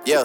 Yeah.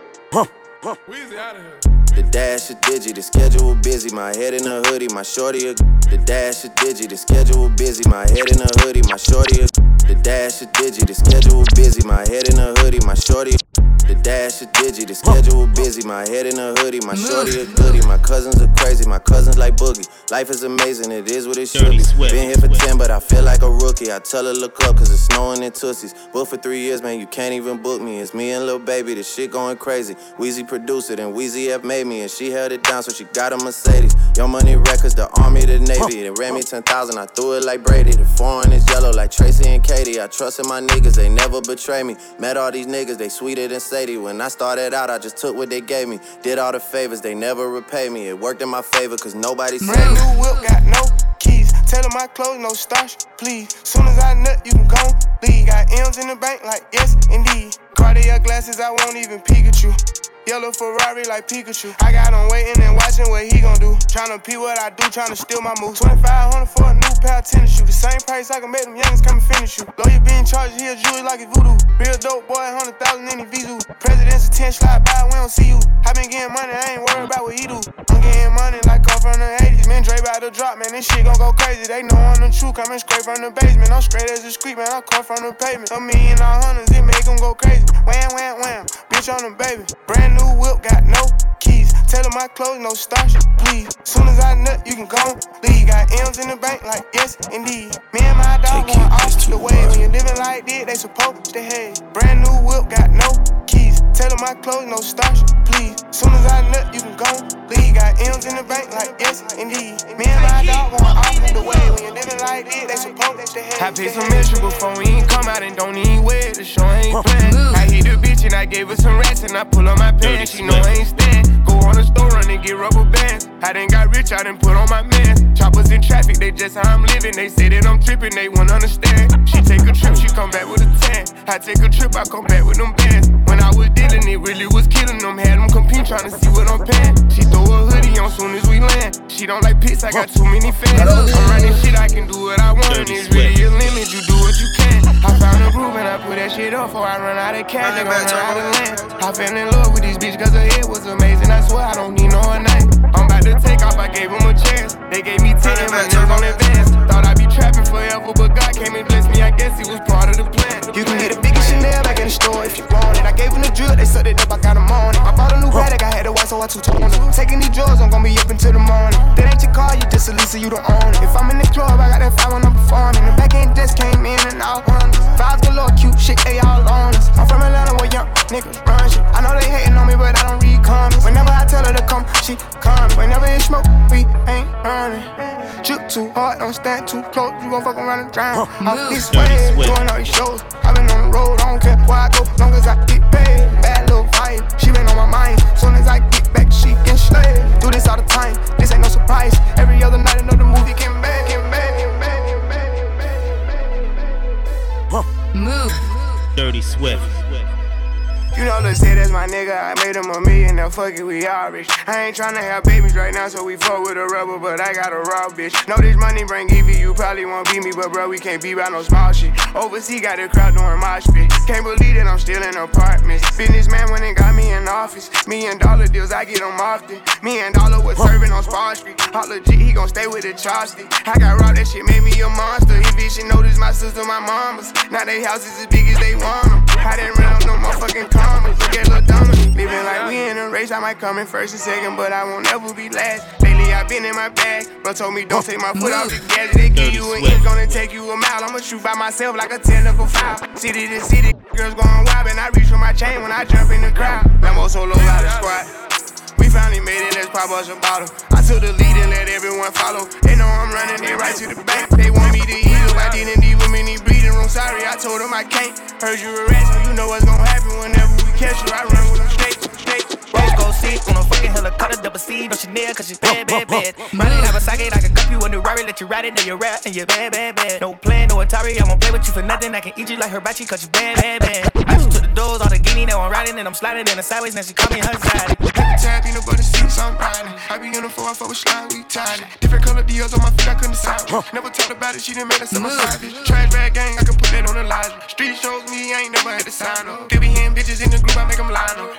Weezy out of here. The dash is digi, the schedule busy. My head in a hoodie, my shorty. The dash is digi, the schedule busy. My head in a hoodie, my shorty. The dash is digi, the schedule busy. My head in a hoodie, my shorty. The dash is digi, the schedule busy. My head in a hoodie, my shorty a goodie. My cousins are crazy, my cousins like Boogie. Life is amazing, it is what it should be. Been here for 10, but I feel like a rookie. I tell her look up, cause it's snowing in Tootsies. Booked for 3 years, man, you can't even book me. It's me and Lil Baby, the shit going crazy. Weezy produced it, and Weezy F made me. And she held it down, so she got a Mercedes. Young Money Records, the Army, the Navy. They ran me 10,000, I threw it like Brady. The foreign is yellow like Tracy and Katie. I trusted my niggas, they never betray me. Met all these niggas, they sweeter than Sadie. When I started out, I just took what they gave me. Did all the favors, they never repay me. It worked in my favor, cause nobody saved me. Brand new whip, got no keys. Tell them my clothes, no starch, please. Soon as I nut, you can go leave. Got M's in the bank, like yes, indeed. Cartier glasses, I won't even Pikachu. Yellow Ferrari like Pikachu. I got him waiting and watching what he gon' do. Tryna pee what I do, tryna steal my moves. 2,500 for a new pair of tennis shoes. The same price I can make them youngins come and finish you. Lawyer being charged, he a Jewish like a voodoo. Real dope boy, 100,000 in his visa. President's attention slide by, we don't see you. I been getting money, I ain't worried about what he do. I'm getting money like I'm from the 80s. Man, Dre about to drop, man, this shit gon' go crazy. They know I'm the truth, coming straight from the basement. I'm straight as a street, man, I come from the pavement. A million all hundreds, it make them go crazy. Wham, wham, wham, bitch on the baby. Brand new whip, got no keys. Tell them my clothes, no starch, please. Soon as I nut, you can go leave. Got M's in the bank, like yes, indeed. Me and my dog going off the way. When you living like this, they supposed to hate. Brand new whip, got no keys. Tell them my clothes, no starch, please. Soon as I nut, you can go leave. Got M's in the bank, like yes, indeed. Me and my dog going off the way. When you living like this, they supposed to hate. I paid some extra before we ain't come out and don't even wear the show ain't playing. I hit the bitch and I gave her some rats and I pull on my pants. She know I ain't stand. Go on the store run and get rubber bands. I done got rich, I done put on my mans. Choppers in traffic, they just how I'm living. They say that I'm tripping, they won't understand. She take a trip, she come back with a tan. I take a trip, I come back with them bands. When I was dealing, it really was killing them. Had them compete, trying to see what I'm paying. She throw a hoodie on soon as we land. She don't like pits, I got too many fans. I'm running shit, I can do what I want. And it's really a limit, you do what you can. I found a groove and I put that shit up before I run out of cash. They gon' run out of land. I fell in love with this bitch cause her head was amazing. I swear I don't need no one night. I'm about to take off, I gave them a chance. They gave me 10 months on advance. Thought I'd be trapping forever, but God came and blessed me. I guess he was part of the plan. You can get a bigger Chanel back in the store if you want it. I gave them the drill, they sucked it up, I got them on it. I bought a new Patek, I had to white, so I two-toned it. Taking these drugs, I'm gon' be up until the morning. That ain't your car, you just a Lisa, you don't own it. If I'm in the club, I got that 5 when I'm performing. The back end desk came in and out wonders. Vibes galore, cute shit, they all on us. I'm from Atlanta where young niggas run shit. I know they hating on me, but I don't read comments. Whenever I tell her to come, she comes. Whenever it's smoke, we ain't running. Drip too hard, don't stand too close. You gon' fuck around and drown. Off this way, doing all these shows. I been on the road, I don't care where I go, long as I get paid. Bad little vibe, she been on my mind. Soon as I get back, she can slay. Do this all the time, this ain't no surprise. Every other night, another movie get back, get back, get back, get back, get back. Move. Dirty Swift. You know, let's say that's my nigga. I made him a million, now fuck it, we all rich. I ain't tryna have babies right now, so we fuck with a rubber, but I got a raw bitch. Know this money bring Evie, you probably won't beat me, but bro, we can't be by no small shit. Overseas got the crowd doing mosh pit. Can't believe that I'm still in apartments. Businessman went and got me in office. $1 million deals, I get them often. $1 million was serving on Spar Street. All legit, he gon' stay with the chopstick. I got robbed, that shit made me a monster. He bitch, she noticed my sister, my mamas. Now they houses as big as they want them. I didn't run up no motherfucking commas. Look at Lil Donna. Living like we in a race, I might come in first and second, but I won't ever be last. Lately I been in my bag, bro told me don't take my foot off the gas. They give you an inch, gonna take you a mile. I'ma shoot by myself like a technical foul. City to city, girls going wild, and I reach for my chain when I jump in the crowd. Lambo solo out of squad. We finally made it, let's pop us a bottle. I took the lead and let everyone follow. They know I'm running it right to the bank. They want me to eat up, I didn't need women in bleeding room. Sorry, I told them I can't. Heard you a rat, so you know what's gonna happen whenever we catch you. I run with them straight. Rose gold seat on a fucking helicopter, double C, no Chanel, cause she's bad, bad, bad. Probably have a socket, I can cup you a new Rari, let you ride it, then you rap, and you're bad, bad, bad. No plan, no Atari, I won't play with you for nothing. I can eat you like hibachi, cause you bad, bad, bad. I just took the doors, all the guinea, now I'm riding, and I'm sliding in the sideways, now she call me her side. Tab, peanut butter seats, I'm riding. I be in the 4 I fuck with slime, we tied it. Different color deals on my feet, I couldn't decide. Never talked about it, she done made us on my side, bitch. Trash bag gang, I can put that on the line. Street shows me, I ain't never had to sign up. They be hitting bitches in the group, I make them line up.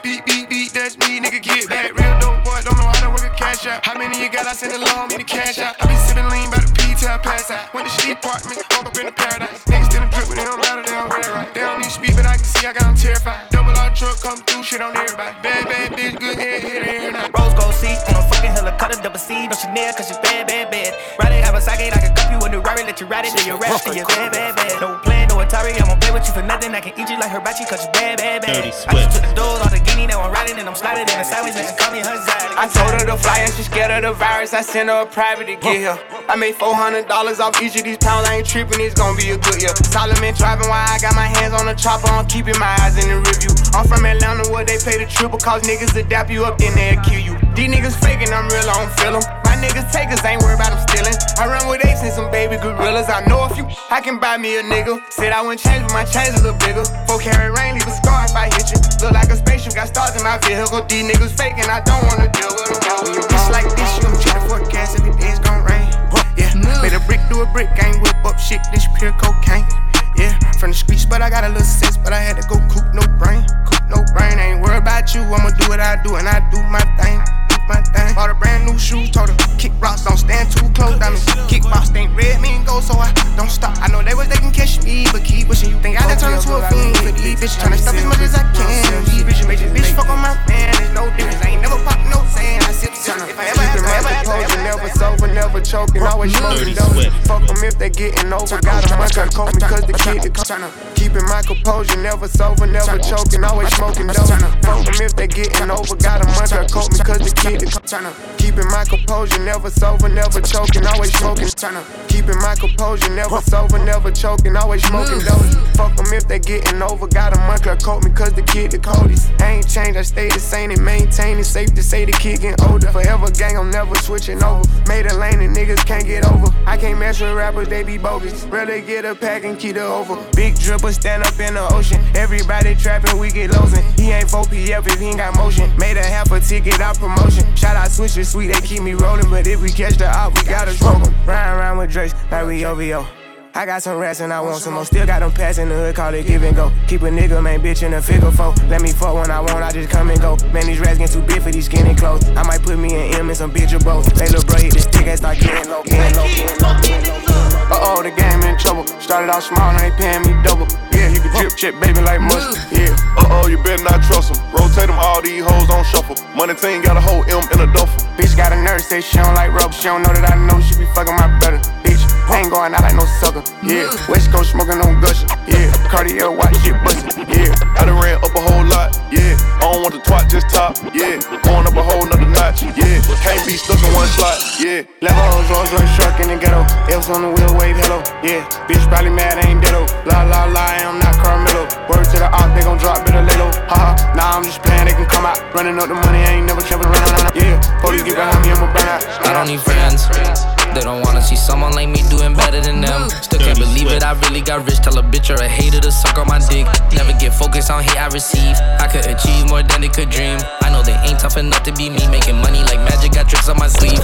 How many you got? I send along, me the cash out. I be sipping lean by the P till I pass out. Went to shitty apartment, woke up in the paradise. Niggas still drip, but they don't matter, they don't wear it right. They don't need speed, but I can see I got them terrified. Double R truck, come through, shit on everybody. Bad, bad bitch, good head, hit it every night. Rose gold seat on a fucking helicopter, double C, no Chanel, cause you bad, bad, bad. Ride it, have a socket, I can cup you in the Rari, let you ride it, then you rap, cause you bad, bad, bad. No plan, no Atari, I won't play with you for nothing. I can eat you like hibachi, cause you bad, bad, bad. I just took the doors, all the guinea, now I'm riding, and I'm sliding in the sideways, and she call me her side. I told her to fly and she scared of the virus. I sent her a private to get here. I made $400 off each of these pounds. I ain't tripping, it's gonna be a good year. Solomon driving while I got my hands on the chopper. I'm keeping my eyes in the review. I'm from Atlanta where they pay the triple, cause niggas adapt you up, then they'll kill you. These niggas faking, I'm real, I don't feel them. My niggas takers, ain't worried about them stealing. I run with apes and some baby gorillas. I know a few, I can buy me a nigga. Said I wouldn't change, but my chains a little bigger. 4 carat rain, leave a scar if I hit you. Look like a spaceship, got stars in my vehicle. These niggas faking, I don't wanna deal with them. When you bitch like this, you gon' check the forecast, every day it's gon' rain. Yeah, made a brick do a brick, I ain't whip up shit, this pure cocaine. Yeah, from the streets, but I got a little sense, but I had to go coop no brain. Coop no brain, I ain't worried about you, I'ma do what I do, and I do my thing. My thing. Bought a brand new shoe, told her kick rocks, don't stand too close. I mean, kickbox ain't red, me and go, so I don't stop. I know they can catch me, but keep pushing. You think I done turn into a fiend for these bitches, tryna stop as much as I can. These bitches make this bitch fuck on my man. There's no difference, I ain't never pop no sand. I sip if I ever have never sober, never choking, always smoking dope. Fuck them if they getting over. Got a month to cope because the kid keeping my composure, never sober, never choking, always smoking dope. Fuck them if they getting over. Got a month to cope because the kid keeping my composure, never sober, never choking, always smoking. Keeping my composure, never sober, never choking, always smoking dope. Fuck them if they getting over. Got a month to cope me cause the kid the coldest. I ain't changed, I stay the same and maintain it. Safe to say the kid getting older. Forever gang, I'm never switching over. Made a lane and niggas can't get over. I can't mess with rappers, they be bogus. Rather get a pack and keep it over. Big dripper stand up in the ocean. Everybody trapping, we get losing. He ain't 4PF if he ain't got motion. Made a half a ticket out promotion. Shout out Switcher Sweet, they keep me rolling. But if we catch the op, we gotta smoke them. Riding around with Drakes like we OVO. I got some rats and I want some more. Still got them pass in the hood, call it give and go. Keep a nigga, main bitch in a figure four. Let me fuck when I want, I just come and go. Man, these rats get too big for these skinny clothes. I might put me an M and some bitch or both. They little bro hit the stick and start getting low, getting low, getting low, getting low. Uh-oh, the game in trouble. Started off small, now they paying me double. Yeah, you can drip chip, baby, like mustard. Yeah. Uh-oh, you better not trust them. Rotate them, all these hoes on shuffle. Money team got a whole M in a duffel. Bitch got a nurse, say she don't like rubber. She don't know that I know she be fucking my brother. Bitch, I ain't going out like no sucker. Yeah, West Coast smoking on gushing. Yeah, Cartier watch shit bustin'. Yeah, I done ran up a whole lot. Yeah, I don't want the twat, just top. Yeah, going up a whole nother notch. Yeah, can't be stuck in one slot. Yeah, Levels, Rolls Royce truck in the ghetto. Elves on the wheel, wave hello. Yeah, bitch probably mad, I ain't ditto. La la la, I'm not Carmelo. Word to the op, they gon' drop bit of little. Haha, nah, I'm just playing, they can come out. Running up the money, I ain't never trapping around. Yeah, police get behind me, I'ma burn out. I don't need friends. They don't wanna see someone like me doing better than them. Still can't believe it, I really got rich. Tell a bitch or a hater to suck on my dick. Never get focused on hate I receive. I could achieve more than they could dream. I know they ain't tough enough to be me. Making money like magic, got tricks on my sleeve.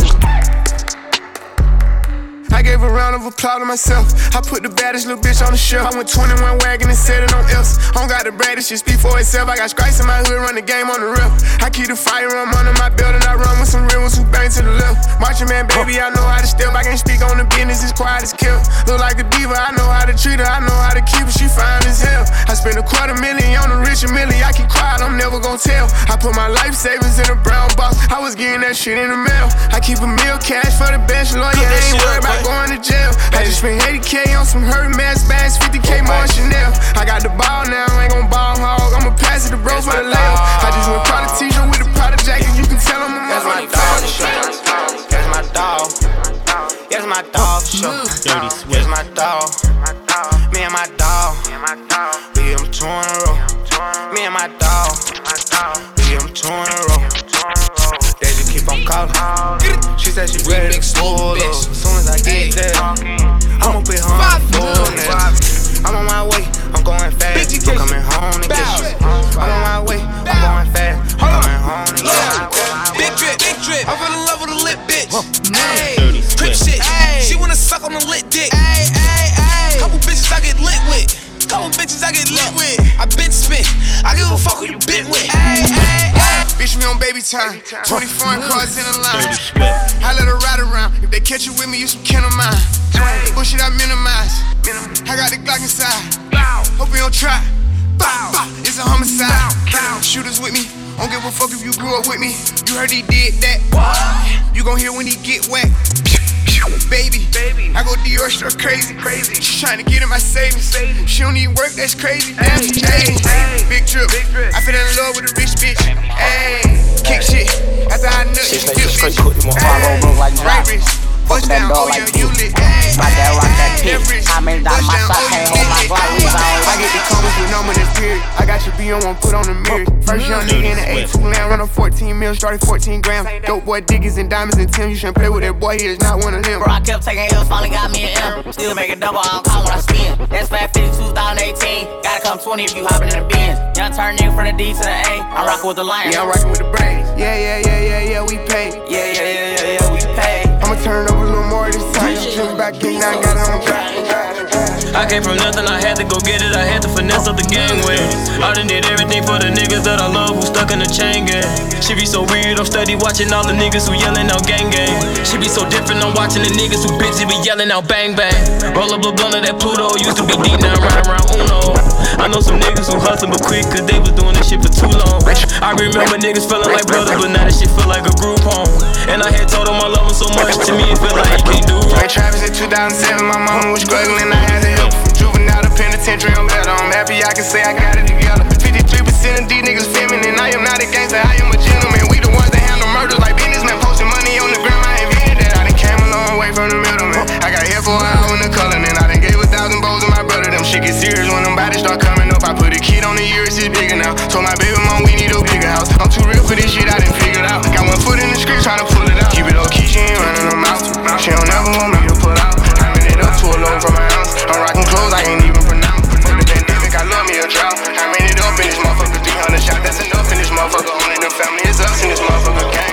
I gave a round of applause to myself. I put the baddest little bitch on the shelf. I went 21 wagon and set it on else. I don't got the baddest shit, speak for itself. I got stripes in my hood, run the game on the rep. I keep the firearm under my belt and I run with some real ones who bang to the left. Marching man, baby, I know how to step. I can't speak on the business, it's quiet as kept. Look like a diva, I know how to treat her. I know how to keep her, she fine as hell. I spent $250,000 on a rich Millie. I keep quiet, I'm never gon' tell. I put my life savings in a brown box. I was getting that shit in the mail. I keep a meal cash for the bachelor. Yeah, I ain't worried about going to jail. I just spent 80K on some Hermes bags, 50K more Chanel. I got the ball now, I ain't gon' ball hog. I'ma pass it to bros for the layup. I just went Prada t-shirt with a Prada jacket. You can tell them I'm that's my dog. That's my dog. That's my dog. Dirty Swift. That's my dog. Me and my dog. We get them 2 in a row. Me and my dog. We get them 2 in a row. They just keep on calling. She said she ready to pull up. As soon as I get there, I'ma put her on full net. I'm on my way, I'm going fast. I'm coming home to get you. I'm on my way, I'm going fast. I'm coming home to get you. Big drip, I fell in love with a lit bitch. Ayy, crip shit, she wanna suck on the lit dick. Couple bitches I get lit with. I get lit with. I been spit. I give a fuck who you been with. Bitch, me on baby time. 24 cars in a line. I let her ride around. If they catch you with me, you some kin of mine. Bullshit I minimize. I got the Glock inside. Hope you don't try. It's a homicide. Shooters with me. Don't give a fuck if you grew up with me. You heard he did that. You gon' hear when he get wet. Baby, I go Dior store crazy. She tryna get in my savings. She don't need work, that's crazy. Damn, she changed. Big trip. I fell in love with a rich bitch. Ayy, kick shit. After I nut, she still bitch. Right wrist. Bust down, oh yeah, you lit. My dad rock that pit. I made it out of my sock, can't hold my Glock. I get the comments with number this period. I got your B on one, put on the mirror. First young nigga in the A2 land, run on 14 mil, started 14 grams. Dope boy Dickies and diamonds and Tim. You shouldn't play with that boy, he is not one of them. Bro, I kept taking L's, finally got me an M. Still making double, I don't call when I spin. That's Fat 50 2018. Gotta come 20 if you hopping in the Benz. Young turn nigga from the D to the A. I'm rocking with the Lions. Yeah, I'm rocking with the Braves. Yeah, we pay. Yeah, we pay. I'ma turn over a little more this time. Jump back in, now I got it on track. I came from nothing, I had to go get it. I had to finesse up the gang with. I done did everything for the niggas that I love who stuck in the chain gang. She be so weird, I'm steady watching all the niggas who yelling out gang gang. She be so different, I'm watching the niggas who busy be yelling out bang bang. Roll up a blunt of that Pluto, used to be deep, now riding around Uno. I know some niggas who hustle but quick, cause they was doing this shit for too long. I remember niggas feeling like brothers, but now that shit feel like a group home. And I had told them I love them so much, to me it feel like you can't do wrong. Ray Travis in 2007, my mama was struggling, I had to help. From juvenile to penitentiary, I'm better. I'm happy I can say I got it together. 53% of these niggas feminine. I am not a gangster, I am a gentleman. We the ones that handle murders like businessmen, posting money on the gram. I invented that. I done came a long way from the middleman. I got here for an hour in the color, and I done gave 1,000 bowls to my brother. Them shit get serious when them bodies start coming up. I put a kid on the year, it's bigger now. Told my baby mom we need a bigger house. I'm too real for this shit, I done figured out. Got one foot in the street trying to pull it out. Keep it low key, she ain't running her mouth. She don't never want me to pull out. I ran it up to a low from my house. I'm rocking clothes I ain't even pronounce. For the pandemic, I love me a drought. I ran it up in this motherfucker, 300 shots. That's enough in this motherfucker. Only the family is us in this motherfucker gang.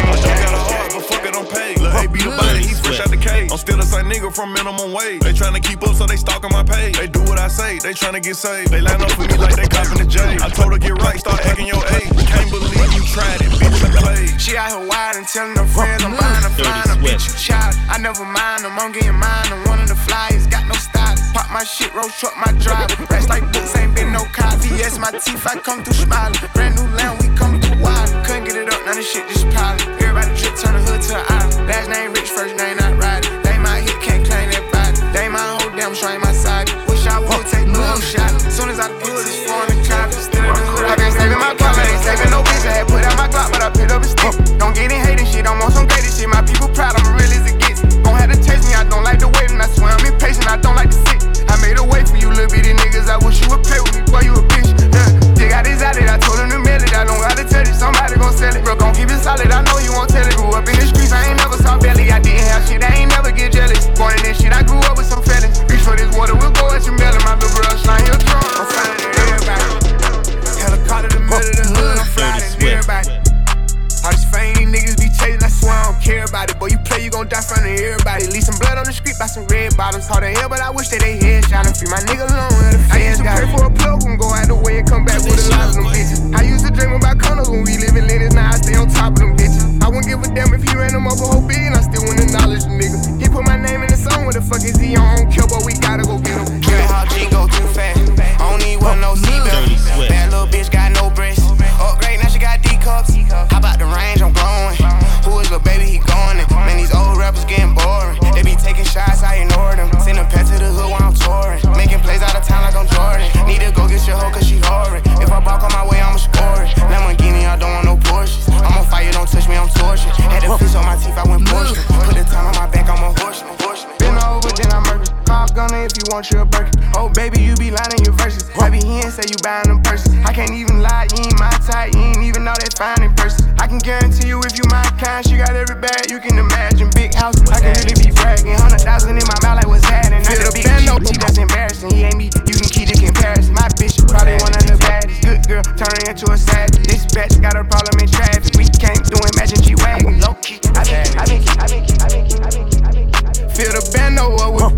But fuck it, I'm paid. Lil' A be the body, he's fresh out the cage. I'm still the same nigga from minimum wage. They tryna keep up, so they stalking my page. They do what I say, they tryna get saved. They line up for me like they copping the J. I told her get right, start acting your age. Can't believe you tried it, bitch, you played. She out here wide and telling her friends I'm buying her flying a bitch, you child. I never mind them, I'm getting mine. I'm one of the flyers, got no style. Pop my shit, road truck my drive. Rest like books, ain't been no cop. VS my teeth, I come through smiling. Brand new land, we come through wild. Couldn't get it up, none of shit just piling. Everybody drip, turn the hood to an island. Last name rich, first name not riding. They my hit, can't claim that body. They my whole damn strain my side. Wish I would take no shot. Soon as I pull this foreign cop, still in the hood. I been saving my clock, I ain't saving no bitch. I had put out my Glock, but I picked up a stick. Don't get in hating shit, I'm on some greatest shit. My people proud, I'm real as it gets. Gon' have to taste me, I don't like the waiting. I swear I'm impatient, I don't like to sit. I made a way for you little bitty niggas. I wish you would play with me, boy, you a bitch. They got this out it, I told him to mail it. I don't gotta tell it, somebody gon' sell it. Bro, gon' keep it solid, I know you won't tell it. Grew up in the streets, I ain't never saw belly. I didn't have shit, I ain't never get jealous. Born in this shit, I grew up with some fellas. Reach for this water, we'll go at your melon. My little brother slime, he'll drunk. I'm flying to everybody. Helicopter the middle of the hood, I'm flying to everybody. All this fame, these niggas be chasing, I swear I don't care about it. Boy, you play, you gon' die in front of everybody. Leave some blood on the street by some red bottoms. Hard to hell, but I wish that they headshot and free my nigga alone. I used to pray for a plug, gon' go out the way and come back with a lot of them bitches. I used to dream about condos when we live in Linus, now I stay on top of them bitches. I wouldn't give a damn if he ran them up a whole billion, I still wouldn't acknowledge the nigga. He put my name in the song, what the fuck is he on? I don't care, but we gotta go get him. Give it how G go too fast. I don't need one, no seatbelt. Bad little bitch got no breasts. Upgrade, now she got D cups. How about the range? I'm growing. Who is little baby? He going in. Man, these old rappers getting boring. They be taking shots, I ignore them. Send a pet to the hood while I'm touring. Making plays out of town like I'm Jordan. Need to go get your hoe cause she horrid. If I balk on my way, I'ma score it. Lamborghini, I don't want no Porsches. I'm on fire, don't touch me, I'm tortured. Had to fish on my teeth, I went Porsche. Put the time on my back, I'm a horseman. Been over, then I murder. Call gunner if you want your Birkin. Oh, baby, you be lying in your verses. I be here and say you buying them purses. I can't even lie, you ain't my type. You ain't even know that fine in person. I can guarantee you if you my kind, she got every bag you can imagine. Big house, I can really be bragging. 100,000 in my mouth like what's happening. Not the big shit, that's embarrassing. He ain't me, you can keep the comparison. My bitch probably one of the baddest. Good girl, turning into a savage. This bitch got a problem in traffic. We can't do Imagine G-Wagon. Low key, I been. Fill the bando up with bags.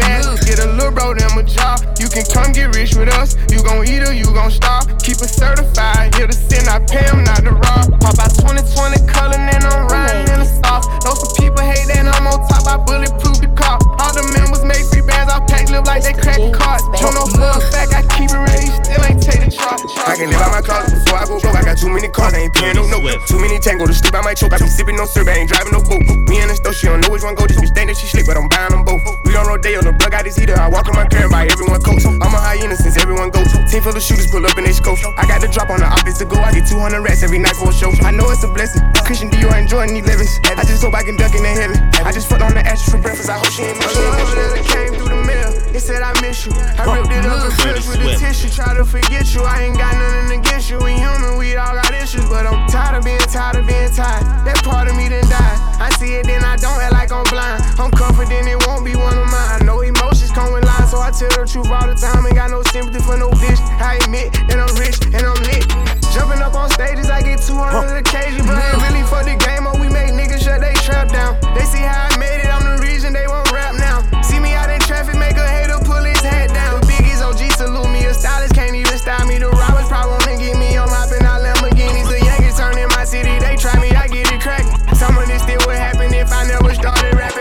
get a little bro them a job. You can come get rich with us. You gon' eat or you gon' starve. Keep it certified, here to sin, I pay them not to rob. Pop out 2020 color, and I'm riding in the sauce. Know some people hate that I'm on top, I bulletproof the car. All the members make free bands, I pack live like they crack cards. Don't know for a fact, I keep it ready, still ain't take the charge. I can live out my closet before I go broke. I got too many cars, I ain't paying no note. Too many tango to sleep, I might choke. I be sipping no syrup, I ain't driving no boat. Me and the stove, she don't know which one go. This bitch think that she slick, but I'm buying them both. We don't rodeo, the plug out his heater. I walk in my car and buy everyone coats. I'm a hyena since everyone goes. Team full of shooters pull up in they scope. I got the drop on the office to go. I get 200 rats every night for a show. I know it's a blessing. Christian Dior and Jordan 11s. I just hope I can duck in the heaven. I just fucked on the ashes for breakfast. I hope she ain't miss you. It came through the mail. It said I miss you. I ripped it up and filled with the tissue. Try to forget you. I ain't got nothing against you. We human, we all got issues, but I'm tired of being tired. That part of me done died. I see it, then I don't act like I'm blind. I'm confident it won't be one of mine. I know emotions come with lies, so I tell the truth all the time. Ain't got no sympathy for no bitch. I admit that I'm rich and I'm lit. Jumping up on stages, I get 200 occasions, but I ain't really for the game. Or we make niggas shut they trap down. They see how I made it, I'm the reason they won't rap now. See me out in traffic, make a hater pull his hat down. The Biggie's OG salute me, a stylist can't even style me. The robbers probably wanna get me, I'm hopping out Lamborghinis. The Yankees turn in my city, they try me, I get it cracking. Some of this still would happen if I never started rapping.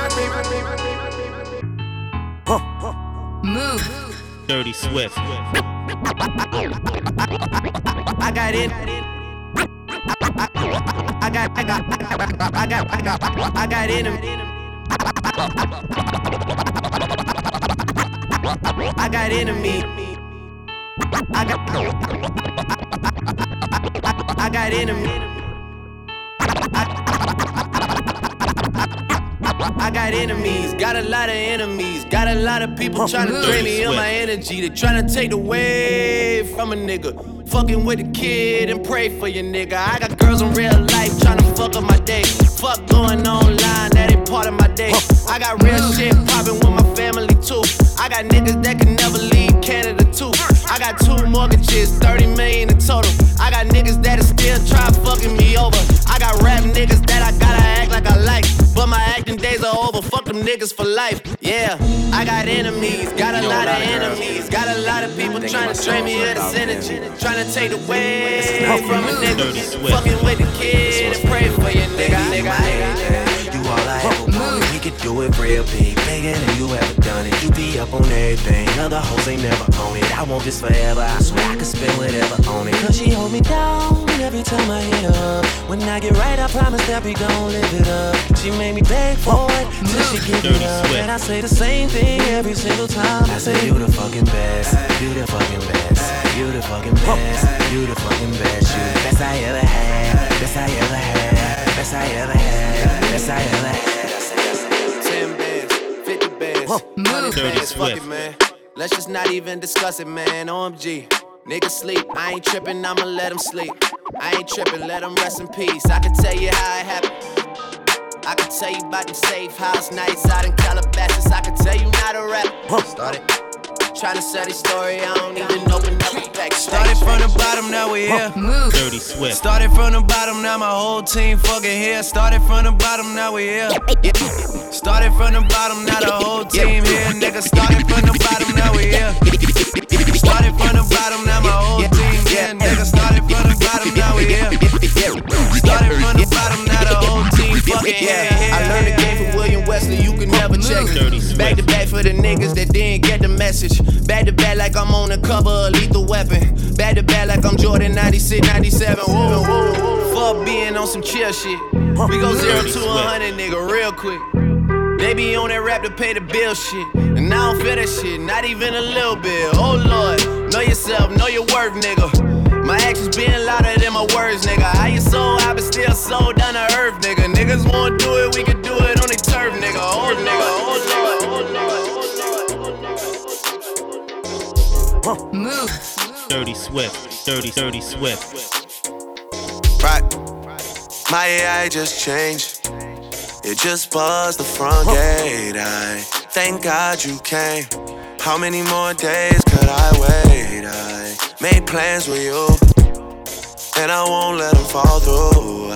Move. Dirty Swift. I got it. I got in him. I got enemy. I got enemy. I got enemies, got a lot of enemies. Got a lot of people trying to drain me of my energy. They trying to take away from a nigga. Fucking with a kid and pray for your nigga. I got girls in real life trying to fuck up my day. Fuck going online, that ain't part of my day. I got real shit popping with my family too. I got niggas that can never leave Canada too. I got 2 mortgages, 30 million in total. I got niggas that'll still try fucking me over. I got rap niggas that I gotta act like I like, but my acting days are over. Fuck them niggas for life. Yeah, I got enemies, got a lot of enemies. Got a lot of people trying to drain me of this energy. Trying to take away from a nigga. Fucking with the kid and pray for your nigga. You all I ever wanted, we could do it real big. Bigger than you ever done it. You be up on everything, other hoes ain't never on it. I want this forever, I swear I could spend whatever on it. Cause she hold me down every time I hit her up. When I get right, I promise that we gon' live it up. She made me beg for it, till she give it up. And I say the same thing every single time. I say you the fucking best, you the fucking best, you the fucking best, you the fucking best, you the best I ever had, best I ever had, best I ever had, best I ever had. 10 bands, 50 bands, 100 bands, fuck it, man. Let's just not even discuss it, man. OMG, niggas sleep. I ain't tripping, I'ma let them sleep. I ain't tripping, let them rest in peace. I can tell you how it happened. I can tell you about them safe house nights out in Calabasas. I can tell you not a rap. Started trying to sell this story, I don't even open up a pack. Started from the bottom, now we here. Dirty Swift. Started from the bottom, now my whole team fucking here. Started from the bottom, now we here. Started from the bottom, now the whole team here. Nigga, started from the bottom, now we here. Started from the bottom, now my whole team here. Nigga, started from the bottom, now we here. Started from the bottom, now the whole team fucking here. I learned the game from William Wesley, you can never check it. Back to back for the niggas that didn't get the message. Back to back like I'm on the cover of Lethal Weapon. Back to back like I'm Jordan 96, 97. Whoa, whoa, whoa. Fuck being on some chill shit. We go 0 to 100, nigga, real quick. They be on that rap to pay the bill shit. And I don't feel that shit, not even a little bit. Oh Lord, know yourself, know your worth, nigga. My actions being louder than my words, nigga. How you so high but still so down to earth, nigga. Niggas wanna do it, we can do it on their turf, nigga. Oh nigga, oh Lord. Move. Dirty Swift, dirty Swift. Right, my AI just changed. It just buzzed the front gate. I thank God you came. How many more days could I wait? I made plans with you, and I won't let them fall through.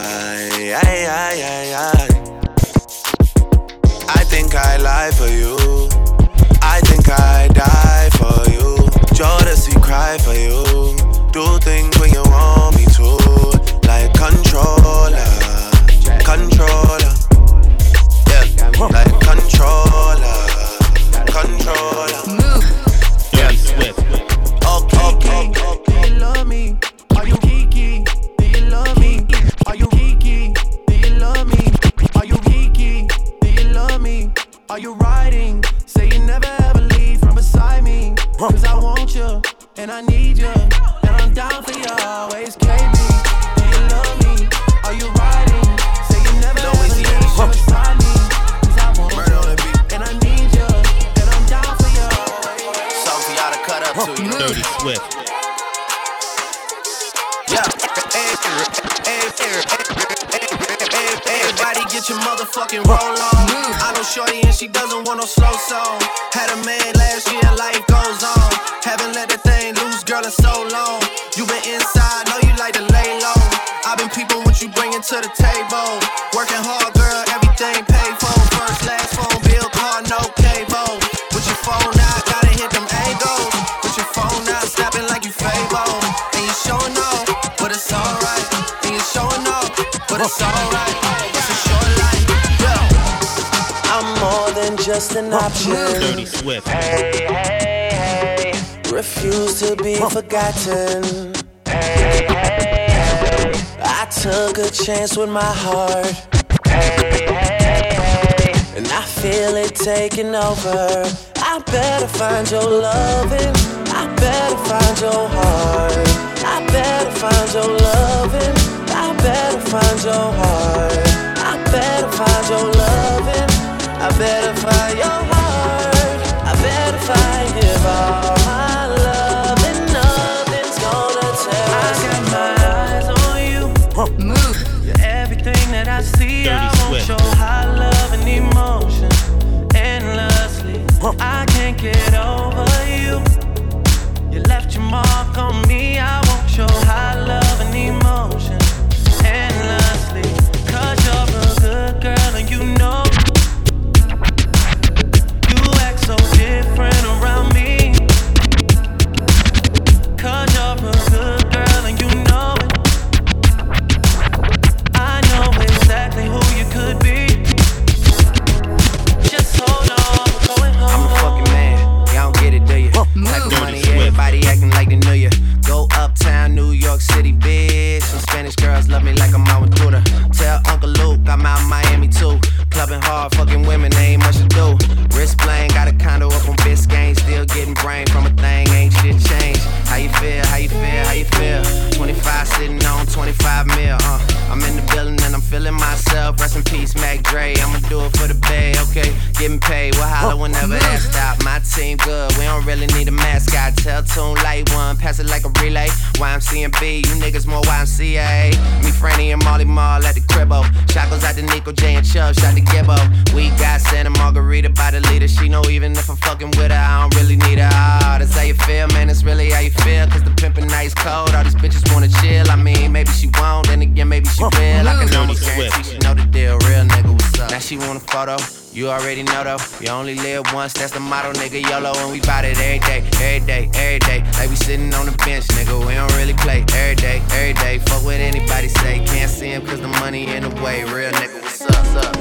I think I lie for you. I cry, die for you. Jodeci cry for you. Do things when you want me to. Like controller, controller. Yeah, like controller, controller. Move. Dirty Swift. Okay. Do you love me? Are you geeky? Do you love me? Are you geeky? Do you love me? Are you geeky? Do you love me? Are you riding? Say you never ever leave from beside me. Cause I want you, and I need you, and I'm down for you always, KB. Do you love me? Are you riding? Say you never ever leave from beside me. Cause I want you, and I need you, and I'm down for you always. Something for y'all to cut up to, you know. Dirty Swift. Yeah. Everybody get your motherfucking roll on. I know shorty and she doesn't want no slow song. Had a man last year, life goes on. Haven't let the thing loose, girl, in so long. You been inside, know you like to lay low. I've been peeping what you bringing to the table. Working hard, girl, everything paid for. First, last phone bill, car, no cable. With your phone out, gotta hit them angles. With your phone out, snapping like you Fable. And you showing off, but it's alright. And you showing off, but it's alright. It's a short life, yeah. I'm more than just an option. Dirty Swift. Hey, hey, hey. Refuse to be forgotten. Hey, hey, hey. I took a chance with my heart. Hey, hey, hey. And I feel it taking over. I better find your loving. I better find your heart. I better find your loving. I better find your heart. I better find your loving. I better find your heart. I better find it all. My love and nothing's gonna tear us apart. I got my eyes on you. Move. You're everything that I see. Dirty I want Swift. your high love and emotion endlessly. I can't get over you. You left your mark on me. I want your high love and emotion endlessly. Cause you're a good girl and you know. You act so different around me. Cause you're a good girl and you know it. I know exactly who you could be. Just hold on, we're going home. I'm a fucking man, y'all don't get it, do you? Type of money, everybody acting like they knew you. Go uptown, New York City, bitch. Some Spanish girls love me like I'm out with Duda. Tell Uncle Luke I'm out in Miami too. Clubbing hard, fucking women, ain't much to do. Wrist bling, got a condo up on Biscayne. Still getting brain from a thing, ain't shit changed. How you feel, how you feel, how you feel? 25 sitting on 25 mil, I'm in the building and I'm feeling myself. Rest in peace, Mac Dre, I'ma do it for the bay, okay? Getting paid, we'll holler whenever that stop. My team good, we don't really need a mascot. Tell Tune Light One, pass it like a relay. YMCMB, you niggas more YMCA. Me, Franny, and Molly Mall at the cribbo. Shot goes out to Nico J and Chubb, shot to Gibbo. We got Santa Margarita by the leader. She know even if I'm fucking with her, I don't really need her. Oh, that's how you feel, man, that's really how you feel. Cause the pimpin' nice cold, all these bitches wanna chill. I mean, maybe she won't, then again, maybe she will. I can almost guarantee she know the deal, real nigga, what's up? Now she want a photo, you already know though. You only live once, that's the motto, nigga, YOLO. And we bout it every day, every day, every day. Like we sitting on the bench, nigga, we don't really play. Every day, every day, fuck what anybody say. Can't see him cause the money in the way, real nigga, what's up?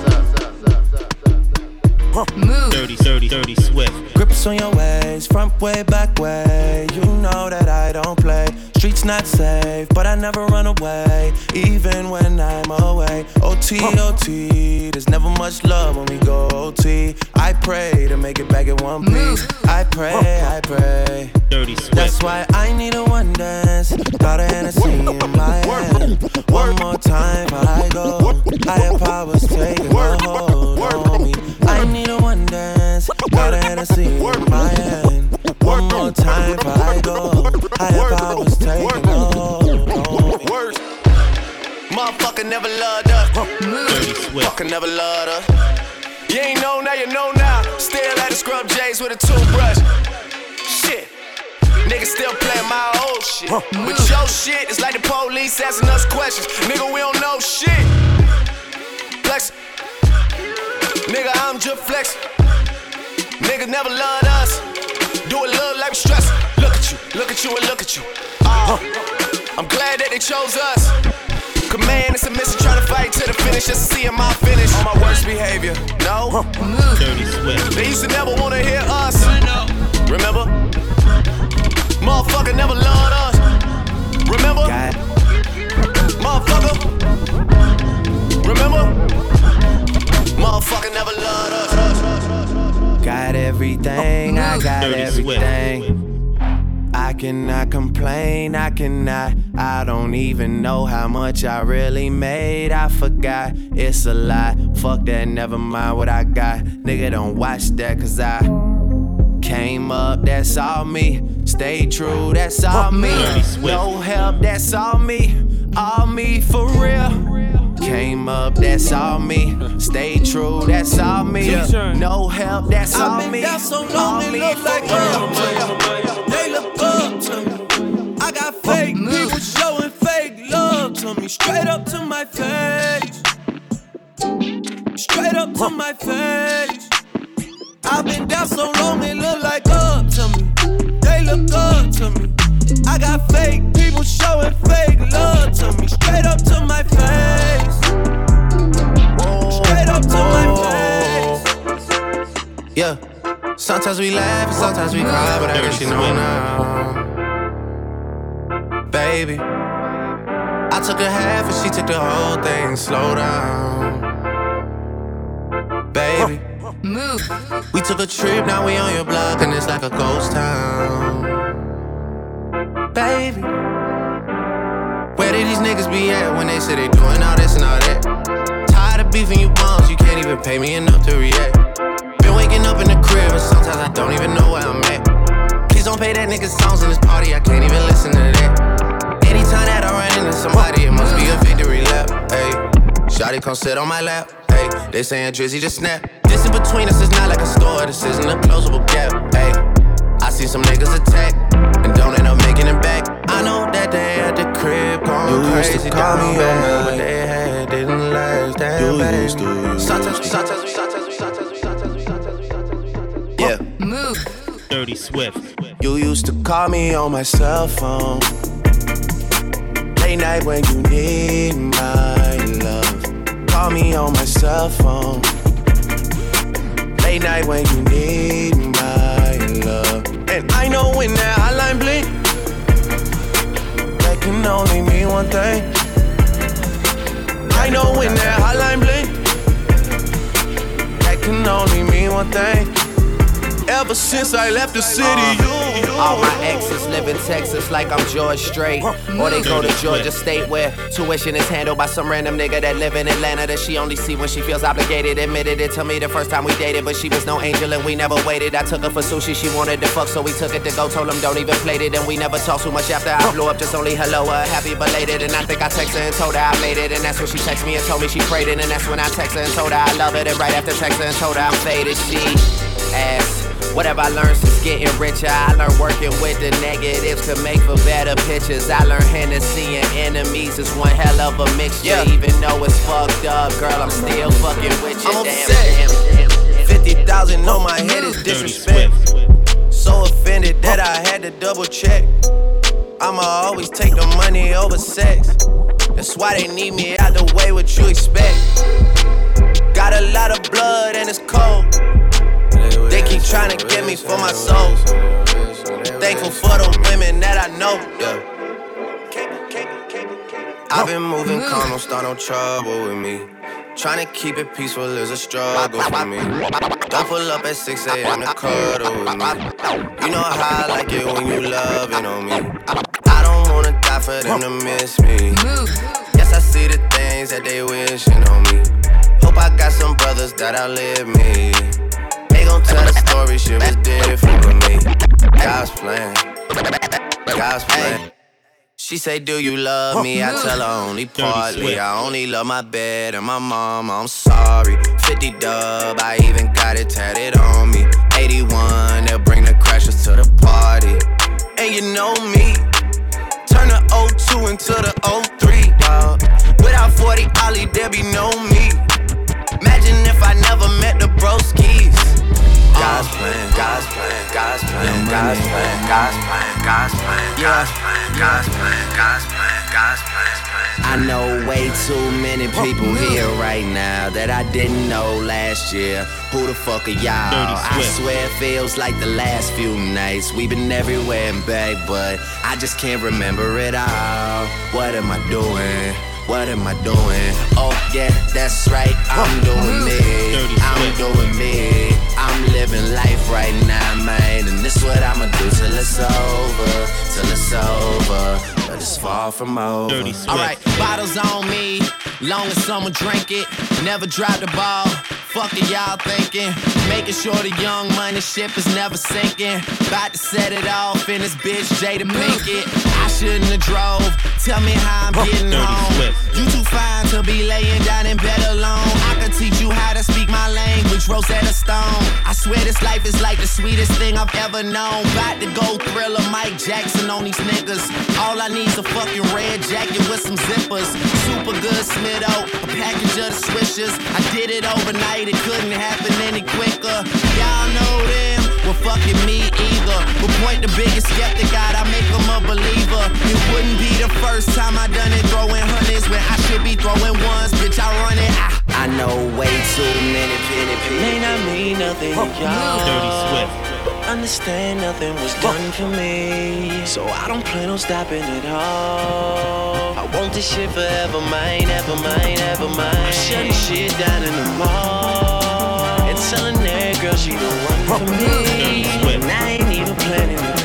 Move. Dirty Swift. Grips on your ways, front way, back way. You know that I don't play. Streets not safe, but I never run away, even when I'm away. OT, OT, there's never much love when we go OT. I pray to make it back in one piece. I pray, I pray. Dirty Swift. That's why I need a one dance. Got a Hennessy in my hand. One more time before I go. Higher powers taking a hold on me. I need a one dance. Got a Hennessy in my hand. One more time before I go. Higher powers taking a hold on me. Motherfucker never loved her. Dirty Swift. Fucker never loved her. You ain't know now, you know now. Still at the scrub J's with a toothbrush. Shit. Niggas still playing my old shit. But your shit is like the police asking us questions. Nigga, we don't know shit. Flex. Nigga, I'm just flexing. Niggas never loved us. might be stressing. Look at you, and look at you. I'm glad that they chose us. Command it's a mission, trying to fight to the finish just to see my finish. On my worst behavior, no. Dirty Swift. They used to never wanna hear us. Remember? Motherfucker never loved us. Remember? Motherfucker. Remember? Motherfucker never loved us. Got everything, I got everything. I cannot complain, I don't even know how much I really made. I forgot, it's a lie. Fuck that, never mind what I got. Nigga, don't watch that, cause I came up, that's all me. Stay true, that's all me. No help, that's all me. All me for real. Came up, that's all me. Stay true, that's all me. No help, that's all me. I've been down so long, it look like real. They look up to me. I got fake people showing fake love to me. Straight up to my face. Straight up to my face. I've been down so long, it look like up to me. They look up to me. I got fake people showing fake love to me. Straight up to my face. Straight up to my face. Yeah, sometimes we laugh and sometimes we cry, but I guess you know now. Baby, I took a half and she took the whole thing. Slow down. Baby, move. We took a trip, now we on your block and it's like a ghost town. Baby, where did these niggas be at when they say they doing all this and all that? Tired of beefing you bums, you can't even pay me enough to react. Been waking up in the crib and sometimes I don't even know where I'm at. Please don't pay that nigga songs in this party, I can't even listen to that. Anytime that I run into somebody, it must be a victory lap. Hey, shawty come sit on my lap. Hey, they saying Drizzy just snap. This in between us is not like a store, this isn't a closable gap. Hey, I see some niggas attack and don't end up making it back. I know that they at the crib going crazy. Used to call me on what they had didn't last. Damn, baby. Sometimes. Yeah. Move. Dirty Swift. You used to call me on my cell phone. Late night when you need my love. Call me on my cell phone. Late night when you need my love. And I know when that hotline blink, that can only mean one thing. I know when that hotline blink, that can only mean one thing. Ever since I left the city, all my exes live in Texas like I'm George Strait. Or they go to Georgia State where tuition is handled by some random nigga that live in Atlanta that she only see when she feels obligated. Admitted it to me the first time we dated, but she was no angel and we never waited. I took her for sushi, she wanted to fuck, so we took it to go. Told him don't even play it, and we never talked too much after I blew up. Just only hello, happy belated. And I think I texted her and told her I made it, and that's when she texted me and told me she prayed it. And that's when I texted her and told her I love it. And right after texting her and told her I'm faded, she asked, whatever I learned since getting richer, I learned working with the negatives could make for better pictures. I learned Hennessy and enemies is one hell of a mixture. Even though it's fucked up, girl, I'm still fucking with you. I'm upset. 50,000 on my head is disrespect. So offended that I had to double check. I'ma always take the money over sex. That's why they need me out the way, what you expect. Got a lot of blood and it's cold. They keep trying to get me for my soul. Thankful for the women that I know. I've been moving calm, don't start no trouble with me. Trying to keep it peaceful is a struggle for me. Don't pull up at 6 a.m. to cuddle with me. You know how I like it when you loving on me. I don't wanna die for them to miss me. Yes, I see the things that they wishing on me. Hope I got some brothers that outlive me. They gon' tell the story, shit was different with me. God's plan, God's plan. She say, do you love me? I tell her only partly. I only love my bed and my mama, I'm sorry. 50 dub, I even got it tatted on me. 81, they'll bring the crashers to the party. And you know me, turn the 02 into the 03, dawg. Without 40 Ollie, there be no me. Imagine if I never met the broskies. God's plan, God's plan, God's plan, God's plan, God's plan, God's plan, God's plan, God's plan, God's plan, God's plan. I know way too many people here right now that I didn't know last year. Who the fuck are y'all? I swear it feels like the last few nights. We've been everywhere and back, but I just can't remember it all. What am I doing? What am I doing? Oh yeah, that's right, I'm doing me. I'm doing me. I'm living life right now, man. And this what I'ma do till it's over. Till it's over. But it's far from over. Alright, bottles on me. Long as someone drink it. Never drop the ball. Fuck it, y'all thinking. Making sure the young money ship is never sinking. About to set it off in this bitch, Jada Pinkett. I shouldn't have drove. Tell me how I'm getting home. You too fine to be laying down in bed alone. I can teach you how to speak my language, Rosetta Stone. I swear this life is like the sweetest thing I've ever known. About to go Thriller, Mike Jackson on these niggas. All I need's a fucking red jacket with some zippers. Super good Smitto, a package of the Swishers. I did it overnight, it couldn't happen any quicker. Y'all know them, well fucking me either. But point the biggest skeptic out, I make them a believer. It wouldn't be the first time I done it, throwing hundreds when I should be throwing ones. Bitch, I run it. I know way too many penny people. May not mean nothing to y'all. Dirty Swift. Understand nothing was done for me, so I don't plan on stopping at all. I want this shit forever, mine, ever mine, ever mine. I'm shutting shit down in the mall and telling that girl she the one for me. And I ain't even planning to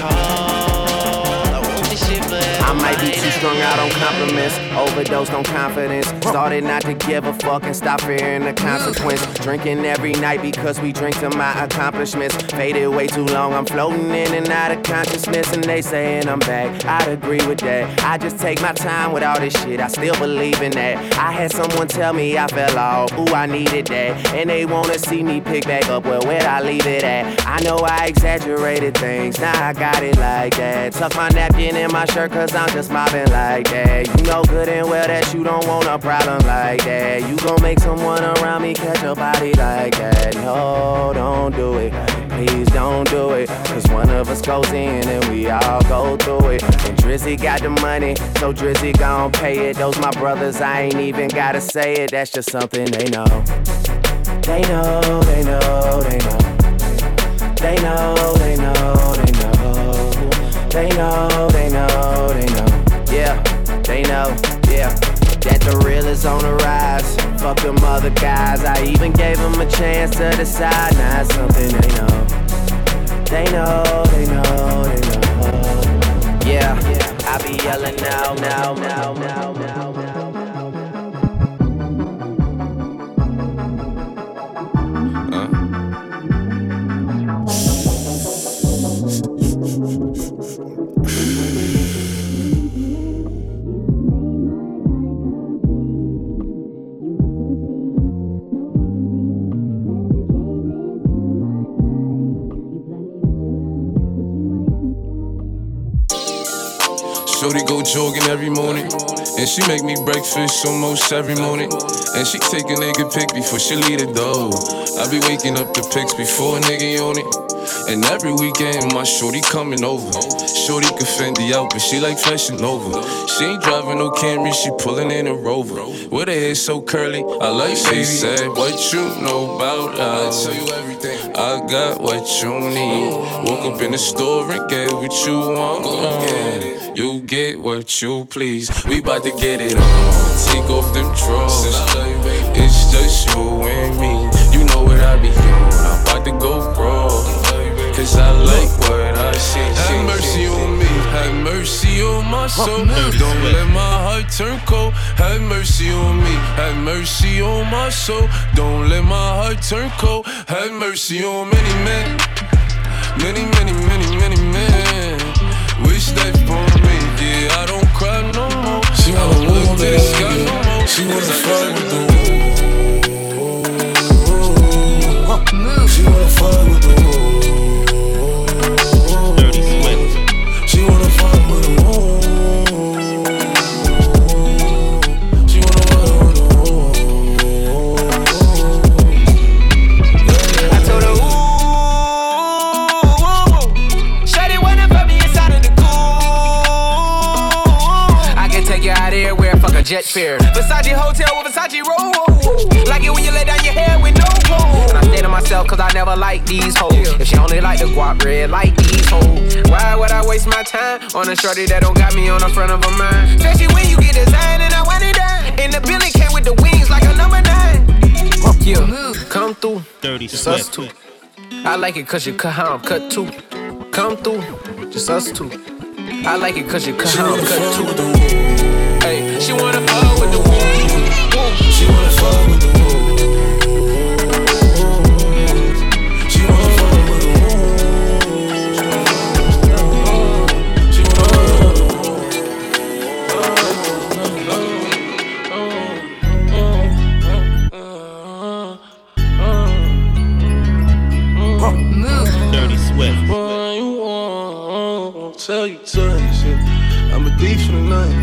call. I want this shit forever. I might be too strung out on compliments, overdosed on confidence. Started not to give a fuck and stop fearing the consequence. Drinking every night because we drink to my accomplishments. Faded way too long, I'm floating in and out of consciousness. And they saying I'm back, I'd agree with that. I just take my time with all this shit, I still believe in that. I had someone tell me I fell off, ooh I needed that. And they wanna see me pick back up, well where'd I leave it at? I know I exaggerated things, now I got it like that. Tuck my napkin in my shirt cause I'm just mobbing like that. You know good and well that you don't want a problem like that. You gon' make someone around me catch a body like that. No, don't do it, please don't do it. Cause one of us goes in and we all go through it. And Drizzy got the money, so Drizzy gon' pay it. Those my brothers, I ain't even gotta say it. That's just something they know. They know, they know, they know. They know, they know, they know. They know, they know, they know. Yeah, they know, yeah. That the real is on the rise. Fuck them other guys. I even gave them a chance to decide. Now it's something they know. They know, they know, they know. Yeah, I be yelling now, now, now, now, now, now. Shorty go jogging every morning, and she make me breakfast almost every morning. And she take a nigga pic before she leave the door. I be waking up the pics before a nigga on it. And every weekend my shorty coming over. Shorty can Fendi out, but she like Fashion Nova. She ain't driving no Camry, she pulling in a Rover. With her hair so curly, I like she said, what you know about us? I tell you everything. I got what you need. Woke up in the store and get what you want. You get what you please. We bout to get it on. Take off them drawers. It's just you and me. You know what I be on. I'm about to go broke, cause I like what I see. Have mercy on me. Have mercy on my soul. Don't let my heart turn cold. Have mercy on me. Have mercy on my soul. Don't let my heart turn cold. Have mercy on many men. Many, many, many, many men. Wish that for me, yeah, I don't cry no more. She wanna look to the sky no more. She wanna fly with the woo. She wanna fly with the woo. Dirty Swift. She wanna fly with the woo. She wanna fly with the woo. I told her, ooh, wear, fuck a jet fare. Versace hotel with Versace roll. Like it when you lay down your hair with no clothes. And I stay to myself cause I never like these hoes. If she only like the guap red like these hoes. Why would I waste my time on a shorty that don't got me on the front of a mind? Especially when you get designed and I want it done. And the building came with the wings like a number 9. Yeah, come through. Dirty just us two. I like it cause you cut how I'm cut too. Come through, just us two. I like it cause you cut how I'm cut too. Hey, she wanna fuck with the woo. She wanna fuck with the woo. She wanna fuck with the woo. She Dirty Swift. Tell you twice, yeah. I'm a thief for the night.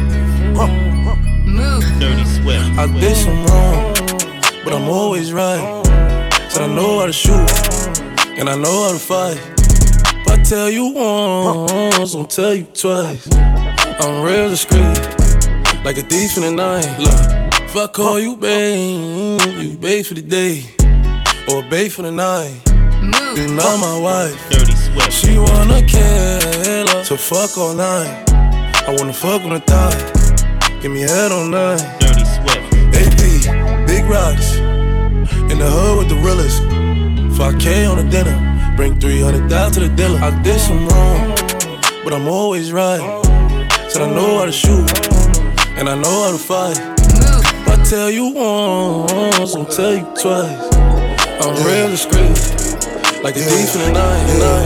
Dirty Swift. I did some wrong, but I'm always right. Said I know how to shoot, and I know how to fight. If I tell you once, I'll tell you twice. I'm real discreet, like a thief in the night. Look, if I call you babe, you babe for the day, or babe for the night. You not my wife. Dirty Swift. She wanna kill her, so fuck all night. I wanna fuck on the thigh, give me head all night. Dirty Swift. AP, big rocks, in the hood with the realest. 5K on the dinner, bring 300 down to the dealer. I did some wrong, but I'm always right. Said I know how to shoot, and I know how to fight. If I tell you once, I'll tell you twice. I'm real discreet, like a thief in the night.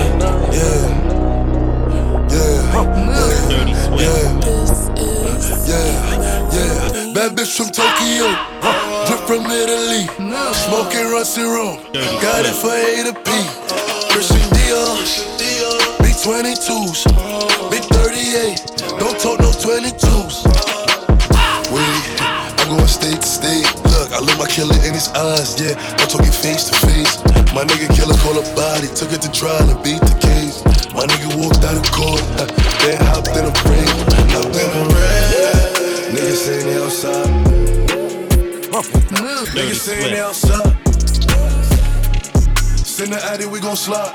Dirty Swift. Bad bitch from Tokyo, drip from Italy, smoking rusty room, got it for A to P. Christian Dior, big 22s, big 38, don't talk no 22s. Wait, I'm going state to state. Look, I look my killer in his eyes, yeah, I'm talking face to face. My nigga killer call her body, took it to trial and beat the case. My nigga walked out of court, then hopped in a ring, hopped in a ring. Niggas say they outside. Niggas say they outside. Send the addy, we gon' slide.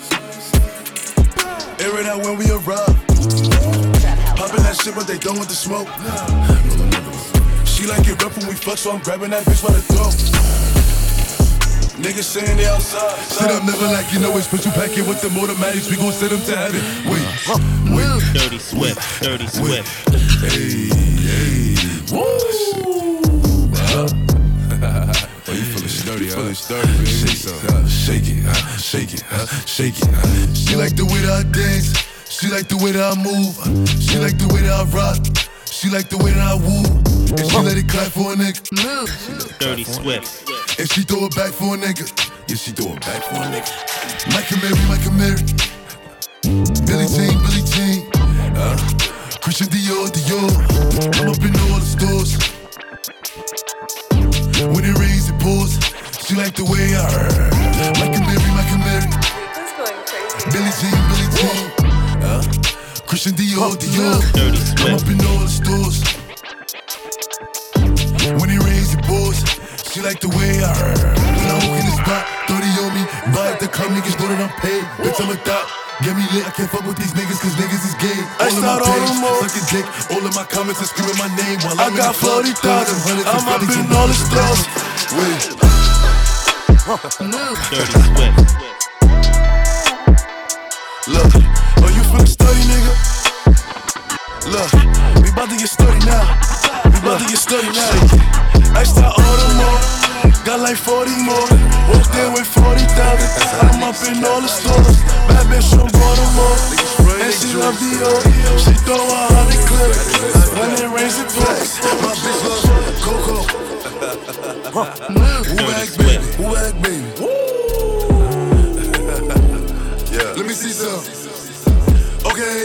Air it out when we arrive. Poppin' that shit, but they done with the smoke. She like it rough when we fuck, so I'm grabbing that bitch by the throat. Niggas saying they outside. Sit up, never like you know it's special packet with the automatics. We gon' send them to heaven. Wait. Dirty Swift. Dirty Swift. Hey. Woo! Oh, you feeling sturdy, huh? Shake it, shake it. She like the way that I dance. She like the way that I move. She like the way that I rock. She like the way that I woo. And she let it clap for a nigga. Dirty Swift. And she throw it back for a nigga. Yeah, she throw it back for a nigga. Michael Mary. Billie Jean. Christian Dior. I'm up in all the stores. When it rains, it pours. She like the way I heard. Michael Mary. Billie Jean. Christian Dior. I'm up in all the stores. When it rains, it pours. She like the way I heard. When I walk in the spot, 30 on me. Buy at the club, niggas know that I'm paid. Bitch, I'm a thot. Get me lit, I can't fuck with these niggas cause niggas is gay. All of my page, sucking dick. All of my comments are screaming my name while I'm in the club. I got 40,000, I'm up in all the stores. Wait. Dirty Swift. Look, are you feeling sturdy, nigga? Look, we about to get sturdy now. Extra order more, got like 40 more. Walked in with 40,000. I'm up in all the stores. Bad bitch from Baltimore, and she love Dior. She throw 100 clips. When it rains, it pours. My bitch love Coco. Who act baby? Yeah. Let me see some. Okay.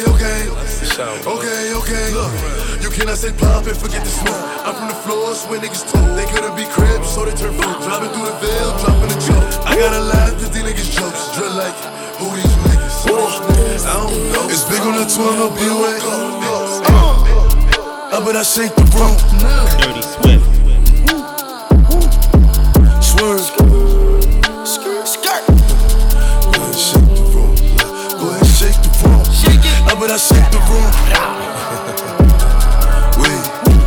Look, you cannot say pop and forget the smoke. I'm from the floors where niggas talk. They couldn't be cribs, so they turn food. Driving through the veil, dropping a joke. I gotta laugh cause these niggas jokes. Drill like, who these niggas? I don't know. It's big on the 12, no B-way. but I shake the room. Dirty Swift. Swerve. Skirt. Go ahead, shake the room. Go ahead, shake the room. But I shake the room. Wait.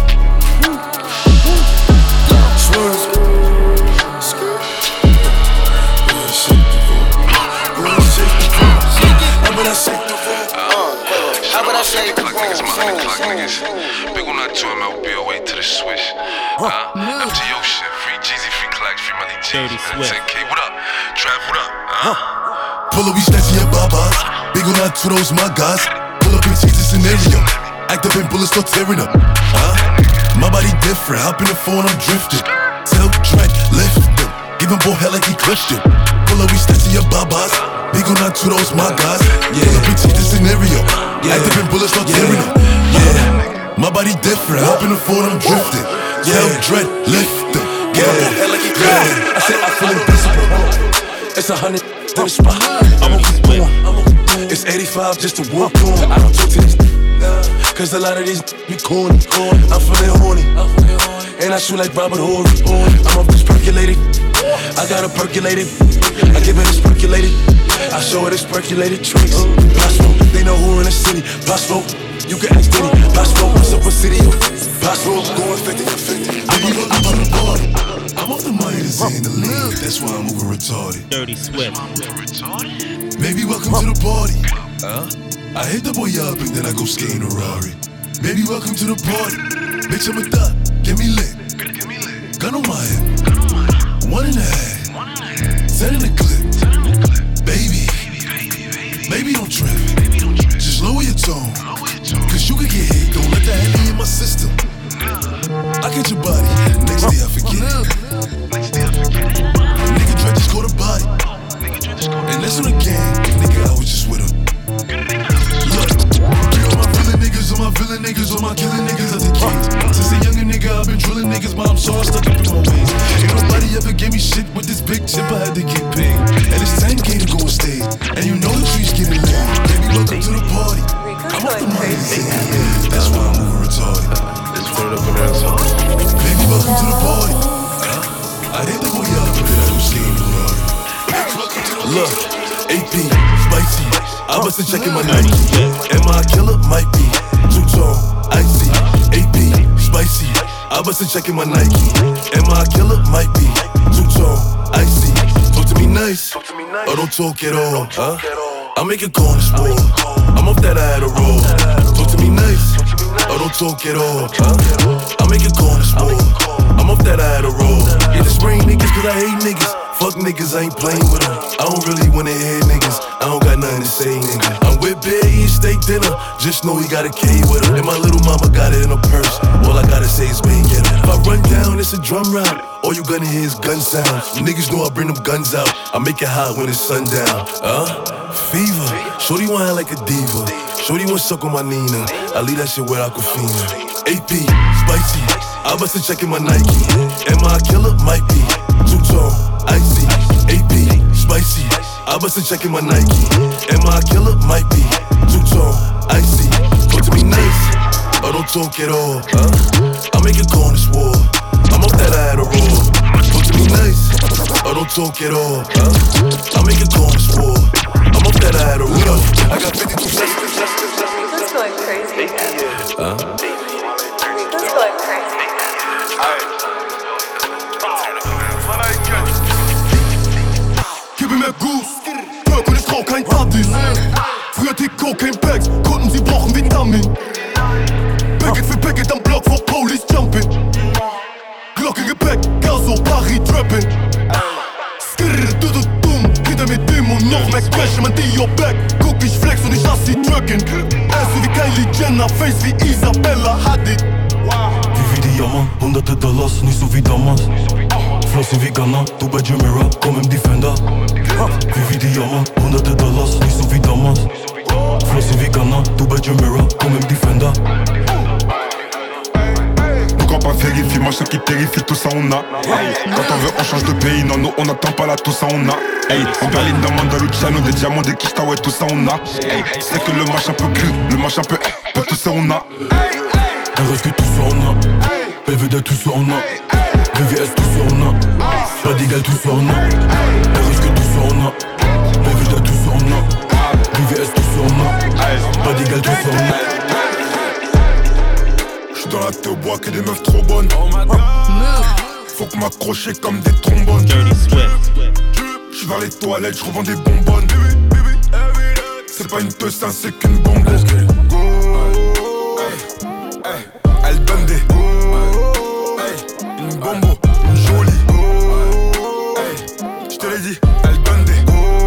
Swerve. Skirt. Go ahead, shake the room. Go ahead, shake the room. But I shake the room. But I shake the room. Niggas, my 100 o'clock niggas. Big on that 2 MLB away to the swish. After your shit, free Jeezy, free Clax, free Melly G. 10K, what up? Trav, what up? Pull up, we snatching your babas. Big on that 2, those my guys. Pull up and change the scenario. Act up and bullets start tearing up. My body different, hop in the phone, I'm drifting. Tell Drake, lift them. Give him boy hell like he clutched it. Pull up, we snatching your babas. Big on that 2, those my guys. Pull up and change the scenario. Act up and bullets start tearing up. My body different, hop in the phone, I'm drifting. Tell Drake, lift them. Give him boy hell like he clutched it. I said I feel invisible. It's 100 in the spot. I'm on the It's 85 just to walk on. I don't talk to these cause a lot of these be corny. I'm feeling horny and I shoot like Robert Horry. I'm a bitch percolated. I got her percolated. I give it this percolated. I show her this percolated tricks. Possible, they know who in the city. Possible, you can ask Diddy. Possible, what's up with city? Possible, going 50 for 50. I'm off the money that's in the league. That's why I'm moving retarded. Dirty Swift. Baby, welcome to the party. I hit the boy up and then I go skating a Rari. Baby, welcome to the party. Bitch, I'm a thot. Get me lit. Gun on my head. 1.5. 10 in the clip. Baby, don't trip. Just lower your tone. Cause you can get hit. Don't let that Henny in my system. I get your body. Next day I forget it. Nigga Dre just caught a body. And that's on the gang. Nigga, I was just with him. Look, all my villain niggas, all my villain niggas, all my killing niggas are the kings. Since a younger nigga, I've been drilling niggas, but I'm so stuck up in my ways. Ain't nobody ever gave me shit with this big chip, I had to get paid. And it's 10K to go on stage. And you know the trees getting laid. Baby, welcome to the party. I'm off the money. That's why I'm moving retarded. Baby, welcome to the party. I hit the boy up and then I go skating the Rari. Look, AP, spicy. I bust a check in my Nike. Am I a killer? Might be. Two-tone, icy. AP, spicy. I bust a check in my Nike. Am I a killer? Might be. Two-tone, icy. Talk to me nice, or don't talk at all. I make a corner sport. I'm off that I had a roll. Talk to me nice, or don't talk at all. I make a corner sport. I'm off that I had a roll. Yeah, the spring niggas cause I hate niggas. Fuck niggas, I ain't playing with them. I don't really wanna hear niggas. I don't got nothing to say, nigga. I'm with Big, eating steak dinner. Just know he got a K with her. And my little mama got it in her purse. All I gotta say is bang, get it. If I run down, it's a drum round. All you gonna hear is gun sounds. Niggas know I bring them guns out. I make it hot when it's sundown. Fever. Shorty want like a diva. Shorty want suck on my Nina. I leave that shit where Aquafina. AP, spicy. I bust a check in my Nike. Am I a killer? Might be. Two-tone, icy. AP, spicy. I bust a check in my Nike. Am I a killer? Might be. Two-tone, icy. Talk to me nice, or don't talk at all. I make a corner swore. I'm off that I had a roll. Talk to me nice, or don't talk at all. I make a corner swore. I'm off that I had a roll. I got 52 seconds. Rico's going crazy again. Rico's going crazy. Gib mir mehr Goose, Perk und ich brauch kein Partys. Früher die Cocaine Packs, Kunden, sie brauchen Vitamin. Packet für Packet am Block vor Police Jumping. Glocke Gepäck, Gaso, Paris Trapping. Skrrr, dumm, hinter mir Dim und noch mehr Crash, mein Dio Back. Guck, ich flex und ich assi tracken. Ass wie Kylie Jenner, Face wie Isabella Hadid. Wie Diamant, hunderte Dollars, nicht so wie damals. Flossen wie Ghana, du bei Jumeirah, komm im Defender. Wie Diamant, hunderte Dollars, nicht so wie damals. Flossen wie Ghana, du bei Jumeirah, komm im Defender. Nos grands pas vérifient, moi ceux qui terrifient, tout ça on a. Hey. Quand on veut on change de pays, non nous on n'attend pas là, tout ça on a. Hey. En Berlin, dans Mandaluciano, des diamants, des quichtas, ouais tout ça on a. Hey. C'est que le match un peu cru, le match un peu tout ça on a. Un RSQ tout ça on a, PVD tout ça on a, VVS tout ça on a, pas d'égal tout ça on a, RSQ tout ça on a, PVD tout ça on a, VVS tout ça on a, pas d'égal tout ça on a. J'suis dans la thé au bois que des meufs trop bonnes. Faut que m'accrocher comme des trombones. J'suis vers les toilettes, j'revends des bonbonnes. C'est pas une teuse, c'est qu'une bombe. Elle donne des une bombo, une jolie. J'te l'ai dit, elle donne des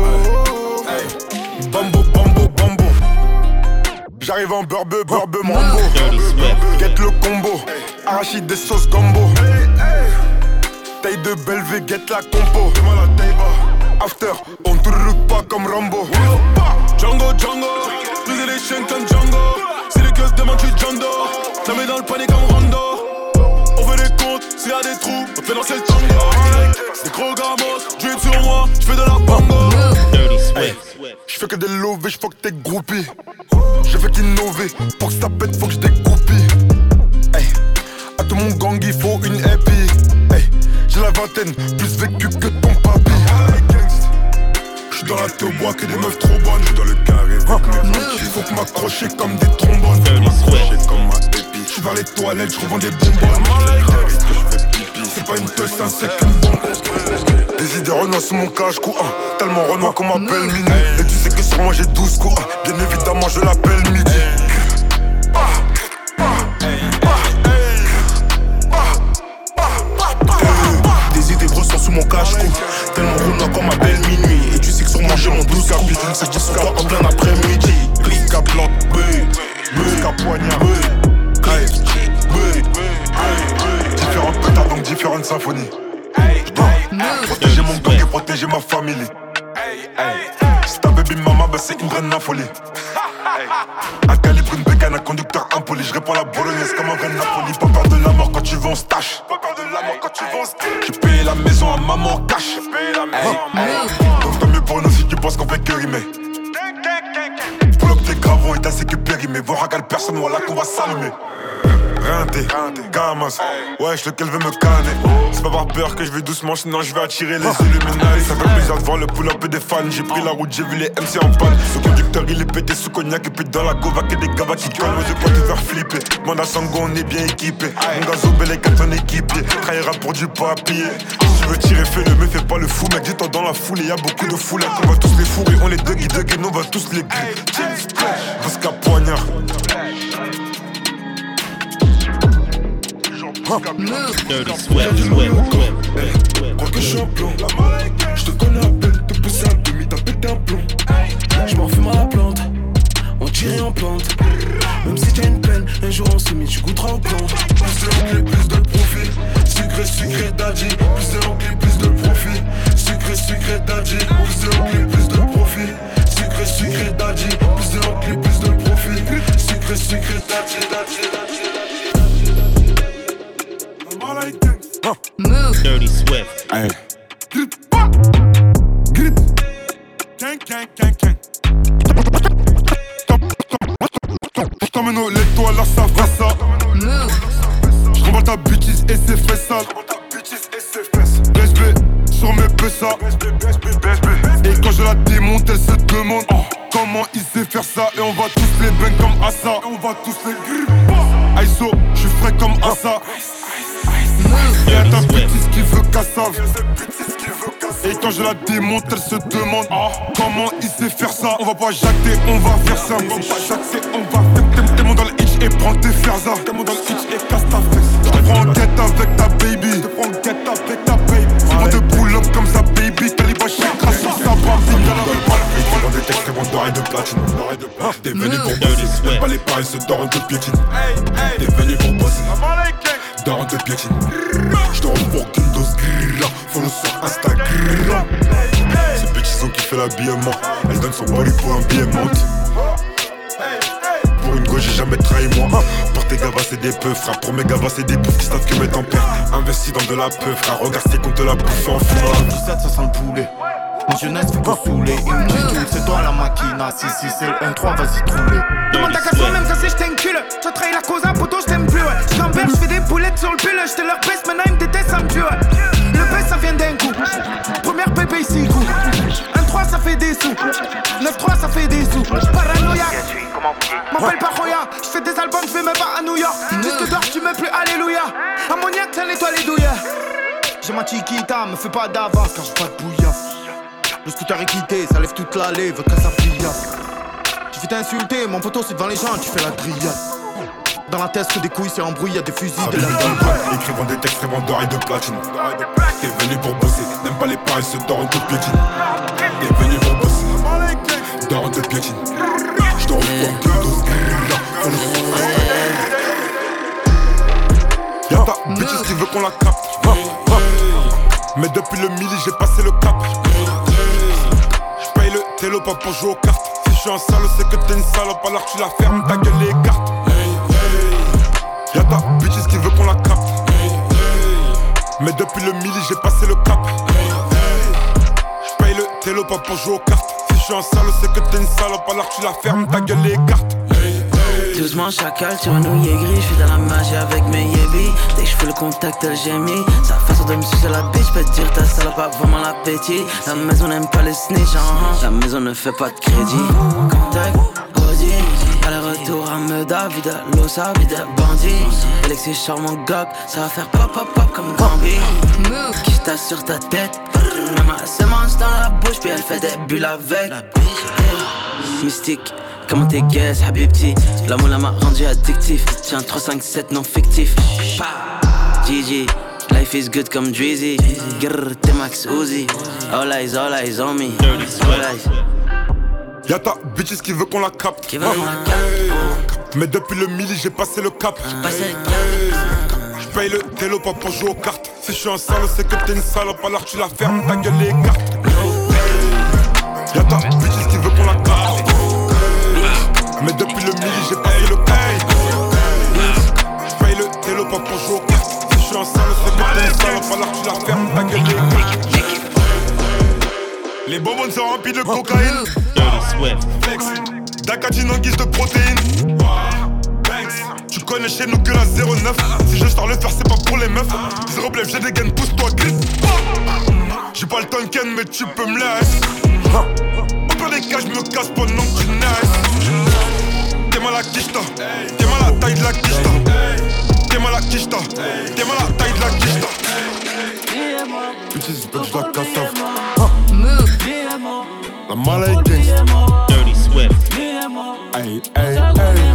bambo, bambo, bambo. J'arrive en burbe, mambo. Get le combo, arachide des sauces gombo. Taille de Belvé, get la compo. After, on te route pas comme Rambo. Django, briser les chaînes comme Django. Si les keufs demandent, j'suis Django. Ça met dans le panier comme Rondo. On fait des comptes, s'il y a des trous, on fait danser le tango. C'est des gros gamos, drip sur moi, j'fais de la bongo. J'fais que des lovés, j'fuck tes groupies. Je fais qu'innover, pour que ça pète, faut que j'dégoupille. Hey, à tout mon gang, il faut une happy. Hey, j'ai la vingtaine, plus vécu que ton papi. J'suis dans la thé au bois que des meufs trop bonnes. J'suis dans le carré avec mes mecs. Faut que m'accrocher comme des trombones. Faut m'accrocher comme ma épi. J'suis vers les toilettes, j'revends des bonbonnes. C'est pas une teuse, c'est qu'une bombe. Des idées renois sous mon cache-cou, tellement renois qu'on m'appelle Mini. Et tu sais que sur moi j'ai 12 coups, bien évidemment je l'appelle Midi. Des idées grosses sous mon cache-cou, tellement renois qu'on m'appelle Minuit. Et tu sais que sur moi j'ai mon 12 coups, c'est que je dis en plein après-midi. Clic à plante, clic à poignard, différentes pétards donc différentes symphonies. Protéger mon gang et protéger ma famille. Si ta baby mama, bah c'est une vraie folie. Un calibre, une bécane, un conducteur impoli. Je réponds la bolognaise comme un vrai Napoli. Pas peur de la mort quand tu vas en stash. J'ai payé la maison à maman en cash. Donc tant mieux pour nous si tu penses qu'on fait que rimer. Pull up tes gravons et t'as sé que périmé. Voir à personne, voilà qu'on va s'allumer. Rinté, Gamas, ouais, je lequel veut me canner. C'est pas par peur que je vais doucement, sinon je vais attirer les Illuminati. Ça fait plaisir de voir le pull-up et des fans. J'ai pris la route, j'ai vu les MC en panne. Le conducteur il est pété sous cognac. Et puis dans la gova que des gavas qui collent. Moi je peux te faire flipper. Manda Sango on est bien équipé. Mon gazo bel et 4 en équipier. Trahira pour du papier. Si tu veux tirer fais-le, mais fais pas le fou mec. Dis-toi dans la foule et y'a beaucoup de foules. On va tous les fourrer, on les duggy, nous on va tous les gris. Jusqu'à poignard. Dirty Swift. Crois que je suis un plomb. Je te connais à peine, te pousser un demi, t'as pété un plomb. Je m'en fume à la plante, on tire en plante. Même si t'as une peine, un jour on se met, tu goûteras au plomb. Plus de l'enclé, plus de profit. Sucré, daddy. Plus de l'enclé, plus de profit. Sucré, daddy. Plus de l'enclé, plus de profit. Sucré, daddy. Plus de l'enclé, plus de profit. Sucré, daddy. Dirty Swift. Hey. Grip. Gang. J't'emmène au lait, toi là ça va ça. J'remballe ta bêtise et c'est fait sale. BSB sur mes PSA. Et quand je la démonte, elle se demande comment il sait faire ça. Et on va tous les bang comme Assa. Aiso, j'suis frais comme Assa. Y'a ta bêtise qui veut cassave. Et quand je la démonte, elle se demande comment il sait faire ça. On va pas jacter, on va faire ça. On va pas jacter, on va faire. T'es mon dans le hitch et prends tes ferzas. T'es mon dans le hitch et casse ta fesse. Je te prends en tête avec ta baby. C'est bon de pull up comme ça baby. Calibre chez crasse sur sa bambine. Ils font des textes, c'est bon d'oreille de platine. T'es venu pour bosser, même pas les paris se dorent de piétine. T'es venu pour bosser. Daron de piétine. J'te pour qu'une dose grilla. Follow sur Instagram. C'est Petit qui fait l'habillement. Elle donne son body pour un billet monte. Pour une gauche j'ai jamais trahi moi. Pour tes gavas c'est des peu frère. Pour mes gavas c'est des poufs qui savent que mettre en père. Investi dans de la peu frère. Regarde c'est qu'on te l'a bouffé en fumant. Ça sent le poulet. Ma jeunesse fait que saouler. Une petite c'est toi la machina. Si c'est le 1-3, vas-y trouver. Demande ta casse moi-même, ça c'est j't'ai une cul. T'as trahi la cause, un poteau, j't'aime plus, ouais. J'gamberge, j'fais des boulettes sur le pull. J'étais leur baisse, maintenant ils me détestent, ça me tue, ouais. Le baisse, ça vient d'un coup. Première pépé, 6 coups. 1-3, ça fait des sous. 9-3, ça fait des sous. Paranoïaque. M'appelle pas Roya. J'fais des albums, j'vais même pas à New York. Disque d'or, tu me plus, alléluia. Ammoniaque, ça nettoie les douilles. J'ai ma chiquita, me fais pas d'avance car j'ai pas de bouillasse. Le scooter est quitté, ça lève toute l'allée, veut que ça brillasse. Tu fais t'insulter, mon poteau c'est devant les gens, tu fais la grillade. Dans la tête que des couilles, c'est embrouillé, y'a des fusils, de la écrivant des textes, rêvant d'or et de platine. T'es venu pour bosser, n'aime pas les paris, ce d'or, on te piétine. T'es venu pour bosser, d'or, on te piétine. J'te revois que 12 grillas, y'a ta bitch qui veut qu'on la capte. Mais depuis le midi j'ai passé le cap. J'paye le télo pas pour jouer aux cartes. Si j'suis un salaud c'est que t'es une salope. Alors tu la fermes, ta gueule les cartes. Y'a ta bitch qui veut qu'on la capte. Mais depuis le midi j'ai passé le cap. J'paye le télo pas pour jouer aux cartes. Si j'suis un salaud c'est que t'es une salope. Alors tu la fermes, ta gueule les cartes. Doucement chacal, tu renouilles gris, j'suis dans la magie avec mes yébis. Dès que j'fais le contact, elle gémit. Sa façon de me sucer la bitch, j'peux te dire ta salope a vraiment l'appétit. La maison n'aime pas les snitch, la maison ne fait pas de crédit. Contact, Audi, aller-retour à Meda, vide l'osa, vide bandit. Alexis charmant gog, ça va faire pop pop pop comme Gambi. Qui j'tasse sur ta tête, maman se mange dans la bouche, puis elle fait des bulles avec. Mystique. Comment t'es guess, habibti. L'amour m'a rendu addictif. Tiens 3, 5, 7 non fictif. GG, life is good comme Drizzy. Grrr, t'es Max Uzi. All eyes on me. All eyes. Y'a ta bitch qui veut qu'on la capte. Mais depuis le midi j'ai passé le cap. J'paye le télo pas pour jouer aux cartes. Si j'suis un salaud c'est que t'es une salope. Alors tu la fermes, ta gueule les cartes. Y'a ta bitch qui veut qu'on la capte. Mais depuis le midi j'ai passé le cap. J'paye le télo pas pour jouer aux cartes. Si j'suis un salaud c'est que t'es une salope. Alors tu la fermes, ta gueule les cartes. Les bonbons sont remplis de cocaïne. Flex, Dakatine en guise de protéines. Tu connais chez nous que la 09. Si je sors le faire c'est pas pour les meufs. Zéro blef, j'ai des gaines, pousse-toi glisse. J'ai pas le Tonken mais tu peux me laisser. Au pire des cas j'me casse pendant que tu naisses. T'es mal à quicheta, t'es mal à la taille de la quicheta. T'es mal à quicheta, t'es mal à la taille de la quicheta. Bitches bitch la cassave. La mala est gangsta. Dirty Swift. Ay, ay, ay.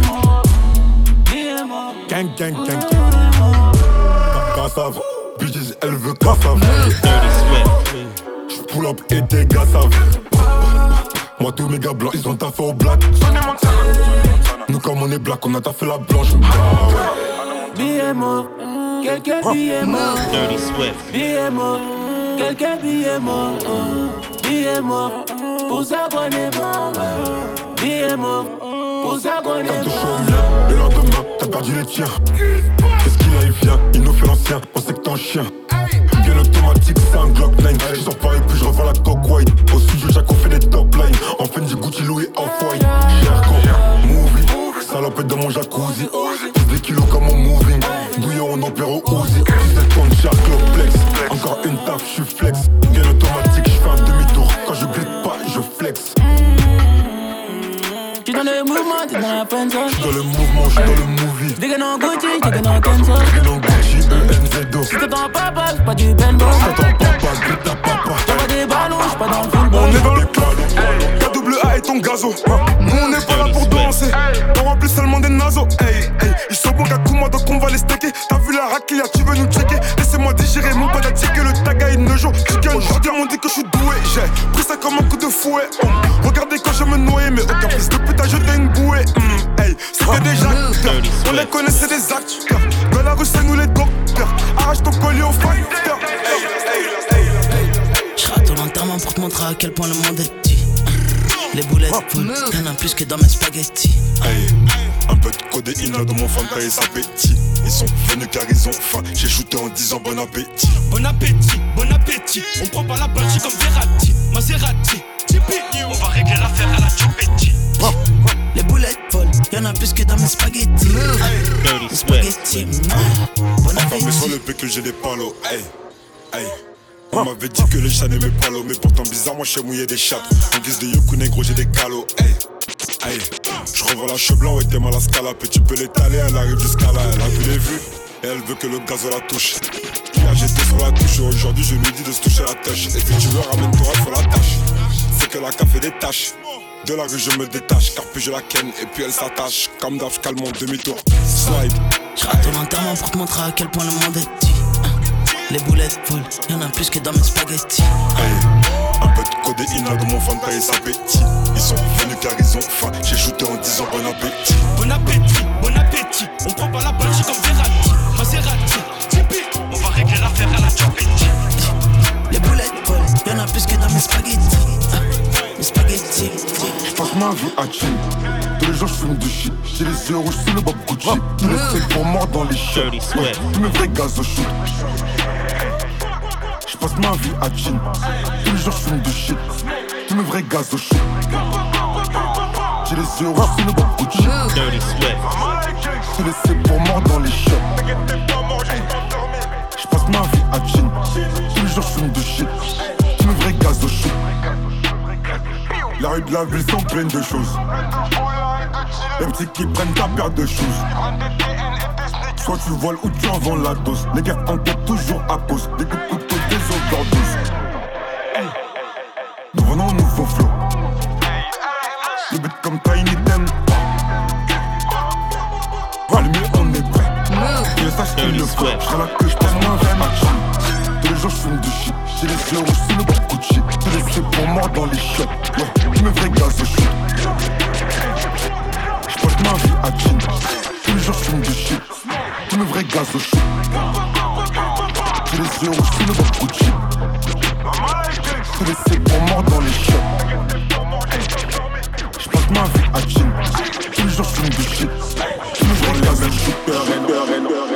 Gang, gang, gang, gang. Cassave. Bitches, elle veut cassave. Dirty Swift. J'pull up et tes gars savent. Moi tous mes gars blancs, ils ont taffé au black. Nous comme on est black, on a taffé la blanche. Billets morts, quelques billets morts. Dirty Swift. Billets morts, quelques billets morts. Billets morts, pour ça qu'on est mort. Billets morts, pour ça qu'on est mort. Le lendemain, t'as perdu les tiens. Qu'est-ce qu'il a, il vient, il nous fait l'ancien. On sait que t'es un chien. Bien automatique, c'est un Glock 9. Je sors Paris, puis je revends la coque white. Au studio, Jack, on fait des top lines. En fin du Gucci, Louis, Off-White. Cherco, movie, salopette dans mon jacuzzi. 10 kilos comme mon moving. Bouillon, on opère au Uzi. 17 tonnes, Shark, Flex. Encore une taf, j'suis flex. Bien automatique, j'fais un demi-tour. Quand je glisse pas, je flex. J'suis dans le mouvement, t'es dans la friendzone. J'suis dans le mouvement, j'suis dans le movie. J'dégaine en Gucci, j'dégaine en Kenzo. J'dégaine en Gucci, ENZO. Si t'attends papa, j'suis pas du bendo. Si t'attends papa, grille ta papa. Y'a pas des ballons, j'suis pas dans le film. On est dans le KAA et ton gazo. Nous on n'est pas là pour danser. On remplit seulement des nasos. Hey, hey, ils sont bons qu'à Kuma donc on va les stacker. T'as vu la raquilla, tu veux nous checker. Laissez-moi digérer mon padatique que le taga il ne joue. Aujourd'hui on dit que je suis doué. J'ai pris ça comme un coup de fouet. Regardez quand je me noyais, mais aucun fils de pute a jeté une bouée. Hey, c'était déjà acteurs. On les connaissait des acteurs. Dans la rue c'est nous les docteurs. Arrache ton collier au facteur. J'rate ton enterrement pour te montrer à quel point le monde est petit. Les boulettes full, y'en a plus que dans mes spaghettis. Hey, un peu de codéine là dans mon Fanta et sa appétit. Ils sont venus car ils ont faim. J'ai shooté en disant bon appétit. Bon appétit, bon appétit. On prend pas la Belgique comme Verratti, Maserati, Tipeee. On va régler l'affaire à la Chupetti. Les boulettes folles, y'en a plus que dans mes spaghettis. Les spaghettis, bon appétit. Mais sur le bec que j'ai des palos. Hey, hey. On m'avait dit que les chats n'aimaient pas l'eau. Mais pourtant bizarre, moi je sais mouiller des chattes. En guise de yoku négro, j'ai des calots. Hey, hey. Je revois la cheveux blanc, ouais t'es mal à scalap. Et tu peux l'étaler, elle arrive jusqu'à là. Elle a vu les vues, et elle veut que le gaz la touche. Hier j'étais sur la touche, aujourd'hui je lui dis de se toucher la touche. Et si tu veux, ramène-toi, il faut la tâche. C'est que la café des tâches. De la rue je me détache, car puis je la ken et puis elle s'attache. Comme d'hab, j'cale mon demi-tour. Slide. J'rate ton enterrement pour te montrer à quel point le monde est petit. Les boulettes folles, y'en a plus que dans mes spaghettis. Hey, un peu de codéine là dans mon Fanta et sa appétit. Ils sont venus car ils ont faim. J'ai shooté en disant bon appétit. Bon appétit, bon appétit. On prend pas la Belgique comme Verratti, Maserati, Tipeee. On va régler l'affaire à la Chupetti. Les boulettes folles, y'en a plus que dans mes spaghettis. Mes spaghettis. J'passe ma vie à chill. Tous les jours j'fume du shit. J'ai les yeux rouges sous le Bob Gucci. Tous les secs pour mort dans les chiottes. Ouais, tous mes vrais gaz au shoot. J'passe ma vie à chill. Tous les jours j'fume du shit. Tous mes vrais gaz au shoot. J'ai les yeux rouges sous le Bob Gucci. Tous les secs pour mort dans les chiottes. J'passe ma vie à chill. Tous les jours j'fume du shit. Tous mes vrais gaz au shoot. La rue de la ville sont pleines de choses. Les petits qui prennent ta paire de choses. Soit tu voles ou tu en vends la dose. Les gars enquêtent toujours à cause des coups de couteau, des overdoses. Nous venons au nouveau flow. Les bêtes comme Tiny Ten. Allumé, on est prêt. Je sache qu'il le faut. J'serai là que j'passe ma veine à chill. Tous les jours j'fume du shit. J'ai les yeux rouges sous le Bob Gucci. Tous les secs pour mort dans les chiottes. Ouais, tous mes vrais gaz au shoot. J'passe ma vie à chill. Tous les jours j'fume du shit. Tous mes vrais gaz au shoot. J'ai les yeux rouges sous le Bob Gucci. Tous les secs pour mort dans les chiottes. J'passe ma vie à chill. Tous les jours j'fume du shit. Tous mes vrais gaz au shoot.